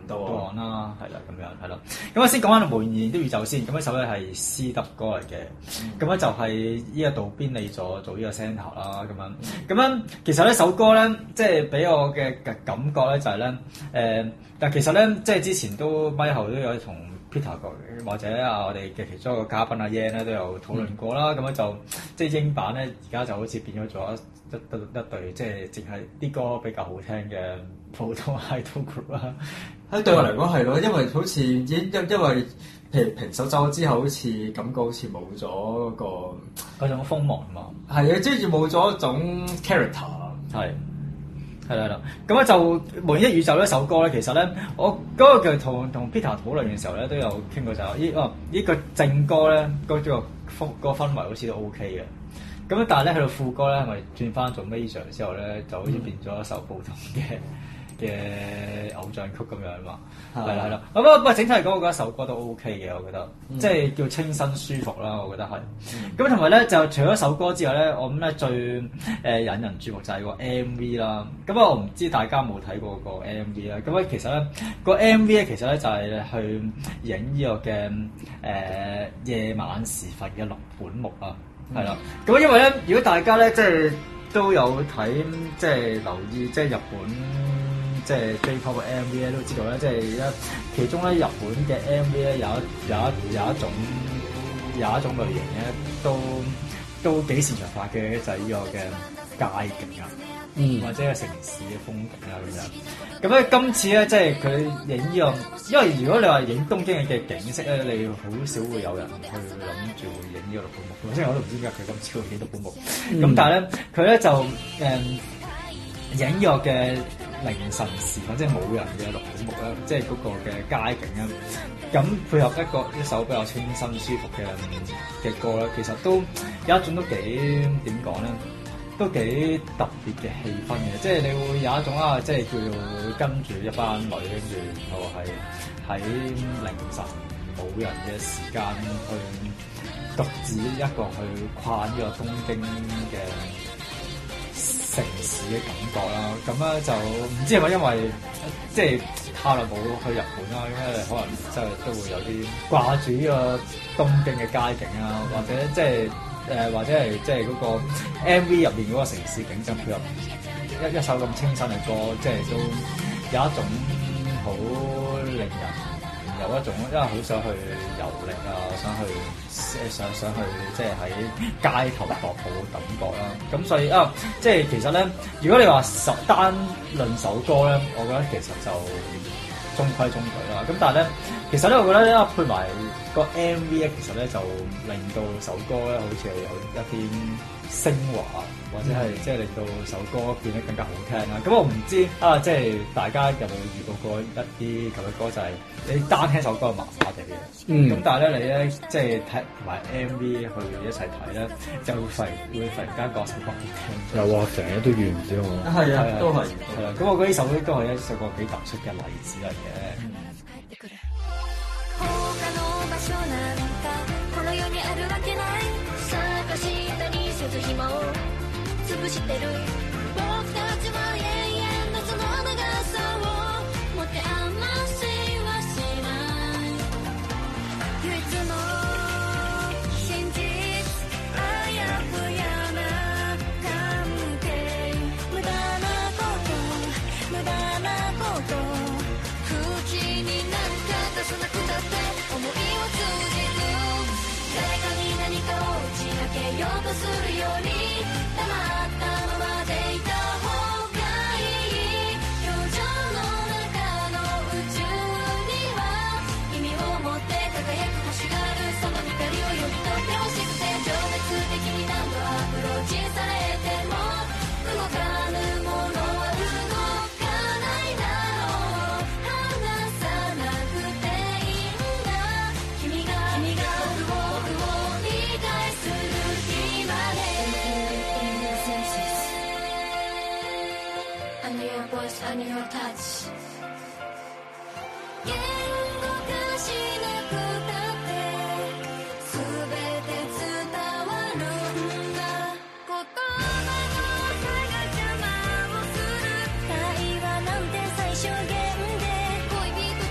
道岸啦，係啦咁樣係啦。咁我先講翻無言的宇宙先。咁呢首咧係斯德哥嚟嘅，咁咧就係呢個渡邊理佐做呢個 centre 啦，咁樣其實呢首歌咧，即係俾我嘅感覺咧就係咧但其實咧即係之前都咪後都有同 Peter 或者我哋嘅其中一個嘉賓阿 Yan 咧都有討論過啦。咁樣就即係英版咧而家就好似變咗一隊即係淨係啲歌比較好聽嘅普通 idol group 啦。 對我嚟講係咯，因為好似因為譬如平手走咗之後，好似感覺好似冇咗嗰種鋒芒嘛。 係啊，即係冇咗一種 character。 係啦，咁咧就《無言的宇宙》呢首歌咧，其實咧我嗰個同 Peter 討論嘅時候咧，都有傾過就係呢個正歌咧，嗰個氛圍好似都 OK 嘅。咁但係咧去到副歌咧，係咪轉翻做 major 之後咧，就好似變咗一首普通嘅偶像曲咁樣嘛。係啦。不過整體嚟講，我覺得首歌都 OK 嘅，我覺得即係叫清新舒服啦。我覺得係。咁同埋咧，就除咗首歌之外咧，我諗咧最引人注目就係個 MV 啦。咁我唔知大家有冇睇過個 MV 啦。咁其實咧個 MV 咧，其實咧就係去影呢個嘅夜晚時分嘅六本木啊。係啦。咁因為咧，如果大家咧即係都有睇即係留意即係日本。即係 J-pop 嘅 MV 咧，都知道咧，即係其中咧日本嘅 MV 咧有一種類型咧，都幾擅長發嘅，就係呢個嘅街景啊，或者係城市嘅風景啊咁樣。咁咧今次咧，即係佢影呢個，因為如果你話影東京嘅景色咧，你好少會有人去諗住會影呢個六本木。即係我都唔知點解佢今次會影六本木。咁但係咧，佢咧就影呢個嘅凌晨時分，即係冇人嘅六本木啦，即係嗰個嘅街景啦。咁配合一首比較清新舒服嘅歌咧，其實都有一種都幾點講咧，都幾特別嘅氣氛嘅。即係你會有一種即係叫做跟住一班女，跟住然後係喺凌晨冇人嘅時間去獨自一個去跨呢個東京嘅城市嘅感覺啦，咁咧就唔知係咪因為即係太耐冇去日本啦，咁咧可能即係都會有啲掛住呢個東京嘅街景啊，或者即係或者係即係嗰個 MV 入面嗰個城市景象配合一首咁清新嘅歌，即係都有一種好令人有一種因為好想去遊歷啊，想去即係喺街頭踱步嘅感覺啦。咁所以即係其實咧，如果你話單論首歌咧，我覺得其實就中規中矩啦。咁但係咧，其實咧，我覺得咧配埋個 MV 咧，其實咧就令到首歌咧好似係有一啲昇華，或者係即係令到首歌變得更加好聽啦。咁我唔知即係大家有冇遇到過一啲咁嘅歌，就係你單聽首歌麻麻地嘅。咁但係咧，你咧即係睇埋 MV 去一齊睇咧，就會忽然間覺首歌好聽。 有啊，成日都遇唔少我。 係啊，都係。 係啊，咁我覺得呢首都係一首個幾突出嘅例子嚟嘅。 潰してる僕たちは永遠のその長さを持て余しはしない唯一の真実あやふやな関係無駄なこと口になんか出さなくたって思いを通じる誰かに何かを打ち明けようとするように黙ったままでいた方がいい表情の中の宇宙には意味を持って輝く星があるその光を読み取ってほしくて情熱的に何度アプローチされても動かぬものは動かないだろう離さなくていいんだ君が僕を理解する日までI need your voice, I need your touch 言語化しなくたって全て伝わるんだ言葉の差が邪魔をする会話なんて最小限で恋人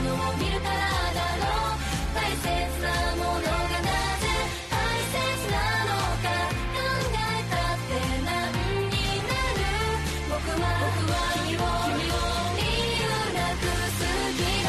のを見るからだろう大切なものがなぜ大切なのか考えたって何になる僕は君を理由なく好きだ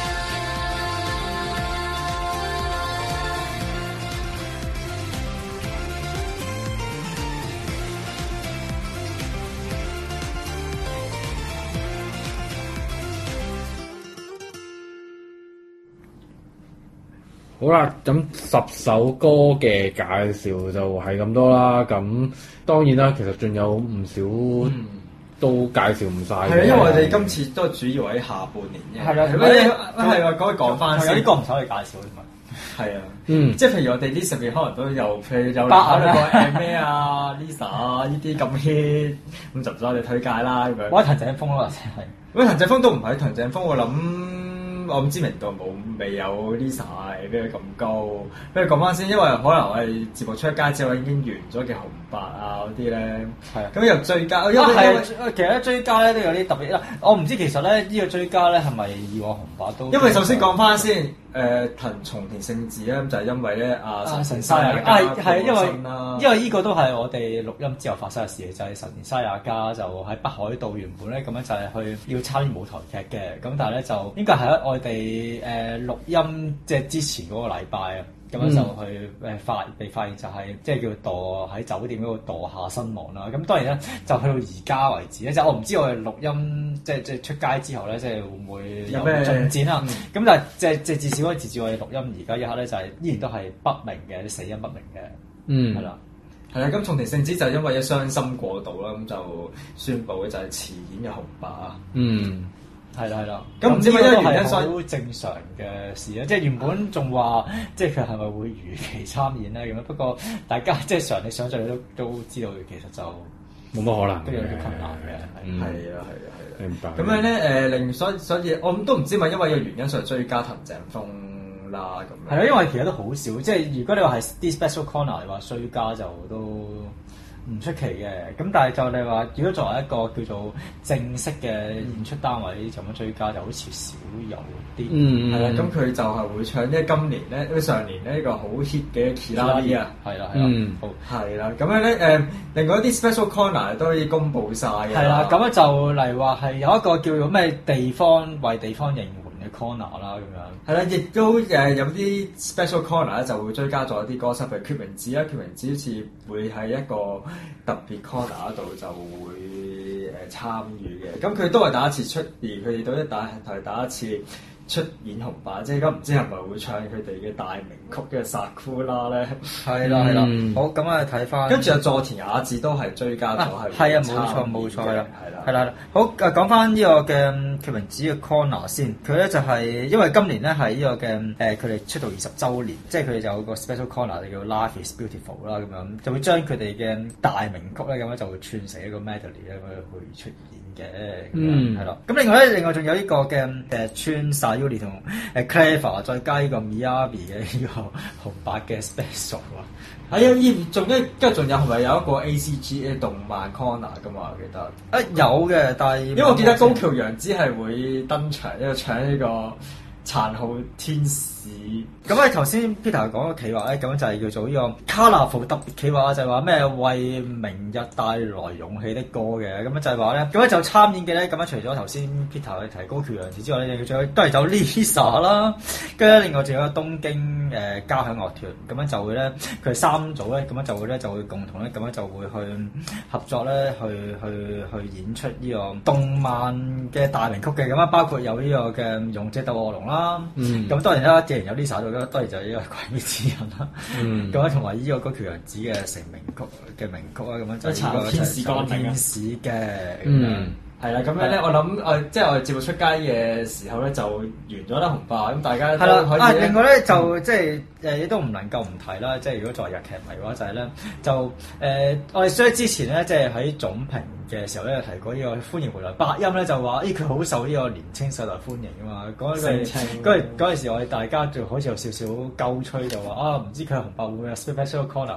好啦，咁10首歌嘅介紹就係咁多啦。咁當然啦，其實仲有唔少都介紹唔晒嘅。 係啊，因為我哋今次都主要喺下半年嘅。 係啦， 係啊，講翻先。 有啲歌唔使去介紹添嘛。 係啊，即係譬如我哋呢10年可能都有，譬如有考慮過咩啊 Lisa 啊呢啲咁 hit， 咁就唔使我哋推介啦咁樣。 我係藤井風咯，或者係。 喂，藤井風都唔係藤井風，我唔知名度未有 Lisa 比佢咁高。不如講翻先，因為可能我哋節目出街之後已經完咗嘅紅白啊嗰啲咧，係啊，咁又追加，因為其實咧追加咧都有啲特別啦。我唔知其實咧呢個追加咧係咪以往紅白都？ 因為首先講翻先，松田聖子咧就係因為咧神田沙也加係因為呢個都係我哋錄音之後發生嘅事，就係神田沙也加就喺北海道原本咧咁樣就係去要參與舞台劇嘅，咁但係咧就應該係喺我哋錄音即係之前嗰個禮拜啊，咁樣就去被發現就係即係叫墮喺酒店嗰度墮下身亡啦。咁當然咧就去到而家為止咧，即係我唔知我哋錄音即係出街之後咧，即係會唔會有咩進展啊？咁但係即係至少可以截至我哋錄音而家一刻咧，就係依然都係不明嘅，死因不明嘅，係啦。 係啦，咁松田聖子就因為一傷心過度啦，咁就宣布嘅就係辭演嘅紅白啊。係啦，咁唔知乜嘢原因，所以好正常嘅事咧。即係原本仲話，即係佢係咪會如期參演咧咁樣？不過大家即係常理想像都知道，其實就冇乜可能， 都有啲困難嘅。 係啊， 明白。 咁樣咧所以我都唔知咪因為個原因所以追加藤井風啦咁樣。 係啊，因為其實都好少，即係如果你話係啲 special corner 你話追加就都唔出奇嘅，咁但係就你話，如果作為一個叫做正式嘅演出單位咁樣追加，就好似少有啲。 係啦，咁佢就係會唱，因為今年咧，因為上年呢個好 hit 嘅 Kirari 啊， 係啦， 好係啦，咁樣咧另外一啲 special corner 都可以公佈晒嘅。 係啦，咁樣就嚟話係有一個叫做咩地方為地方應援嘅 corner 啦，咁樣。 係啦，亦都有啲 special corner 咧就會追加咗一啲歌手，譬如決明子啦，決明子好似會喺一個特別 corner 度就會參與嘅。咁佢都係第一次出現，佢哋都係第一次出演紅白，即係而家唔知係咪會唱佢哋嘅大名曲嘅《Sakura》咧？係啦，好，咁啊睇翻。跟住阿佐田雅治都係追加咗，係啊，冇錯，係啦，好講翻呢個嘅決明子嘅 corner 先。佢咧就係因為今年咧係呢個嘅佢哋出道20週年，即係佢哋就有個 special corner 就叫 Life is Beautiful 啦，咁樣就會將佢哋嘅大名曲咧咁樣就會串成一個 medley 咧咁樣去出現嘅，係啦。咁另外仲有呢個嘅串 Sayuri 同Clever 再加呢個 Miyabi 嘅呢個紅白嘅 special 啊。係啊，仲有係咪有一個 ACG 嘅動漫 corner 噶嘛？我記得有嘅，但係因為我記得高橋陽子係會登場，因為唱呢個殘酷天使。咁啊，頭先 Peter 講嘅企劃咧，咁樣就係叫做呢個 Colorful 特別企劃，就係話咩為明日帶來勇氣的歌嘅。咁樣就係話咧，咁樣就參演嘅咧，咁樣除咗頭先 Peter 去提高橋陽子之外咧，仲有都係有 Lisa 啦，跟住另外仲有東京交響樂團，咁樣就會咧，佢哋3組咧，咁樣就會共同咧，咁樣就會去合作咧，去演出呢個動漫嘅大名曲嘅。咁啊，包括有呢個嘅勇者鬥惡龍啦，咁當然啦，既然有 Lisa 度，當然就係呢個鬼滅之刃啦，咁樣同埋呢個高橋陽子嘅成名曲嘅名曲啊，咁樣就係呢個天使嘅，係啦，咁樣咧，我諗即係我哋節目出街嘅時候咧，就完咗啦紅白，咁大家都可以。另外咧就即係亦都唔能夠唔提啦，即係如果作為日劇迷嘅話，就係咧就我哋所以之前咧，即係喺總評嘅時候咧，提過呢個歡迎回來，百音咧就話佢好受呢個年青世代歡迎啊嘛。嗰陣時我哋大家就好似有少少鳩吹，就話唔知佢紅白會唔會有 special corner 咧？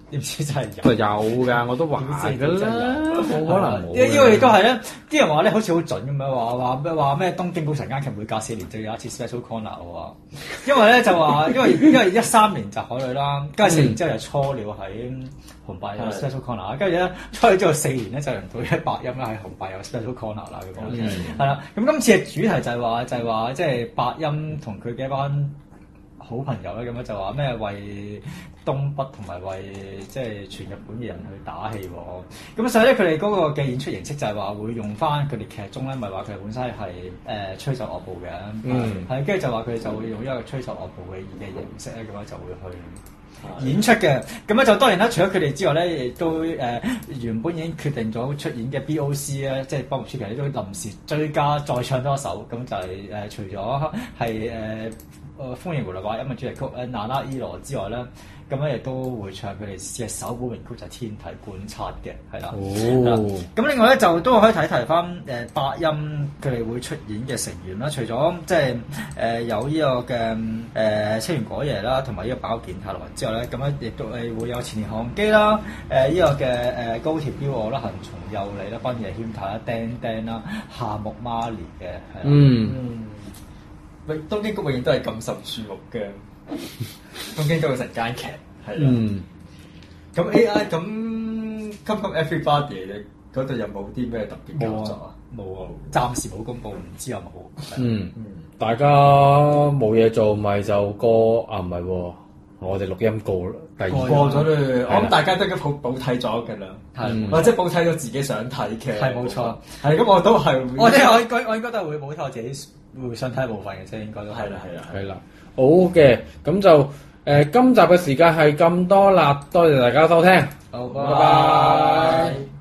點知真係有㗎，我都話㗎啦，冇可能冇。 因為亦都係咧，啲人話咧好似好準咁樣話咩東京古神間劇每隔4年就有一次 special corner 喎。因為咧就話因為13年就海女啦，跟住4年之後就初鳥喺紅白有 special corner， 跟住咧初鳥之後4年咧就輪到一百音啦喺紅白有 special corner 啦咁樣。係啦，咁今次嘅主題就係話即係百音同佢嘅一班好朋友咧，咁樣就話咩為東北同埋為即係全日本嘅人去打氣喎。咁所以咧，佢哋嗰個嘅演出形式就係話會用翻佢哋劇中咧，咪話佢哋本身係吹奏樂部嘅，係跟住就話佢哋就會用一個吹奏樂部嘅形式咧，咁樣就會去演出嘅。咁咧就當然啦，除咗佢哋之外咧，亦都原本已經決定咗出演嘅 BOC 咧，即係幫木村其實都臨時追加再唱多一首，咁就係除咗係歡迎回來百音嘅主題曲《娜拉伊羅》之外咧，咁咧亦都會唱佢哋嘅首本名曲就係《天體觀察》嘅，係啦。咁另外咧就都可以提翻百音佢哋會出演嘅成員啦，除咗即係有呢個嘅清原果耶啦，同埋呢個坂口健太郎之外咧，咁咧亦都會有前田航基啦，呢個嘅高田彪我啦、恒松祐里啦、濱野謙太啦、釘釘啦、夏目媽莉嘅，係啦。 東京谷永遠都係咁受注目嘅，東京都有成間劇係啦。咁 AI 咁 Come Everybody 嗰度有冇啲咩特別嘅作啊？ 冇啊，暫時冇公佈，唔知有冇。 大家冇嘢做，咪就過啊？唔係喎，我哋錄音過第二過咗咧，我諗大家都已經補睇咗㗎啦，或者補睇咗自己想睇嘅。 係冇錯， 係咁我都係。 我應該都係會補睇我自己會想睇部分嘅啫，應該都係啦。好嘅，咁就今集嘅時間係咁多啦，多謝大家收聽， 好，拜拜。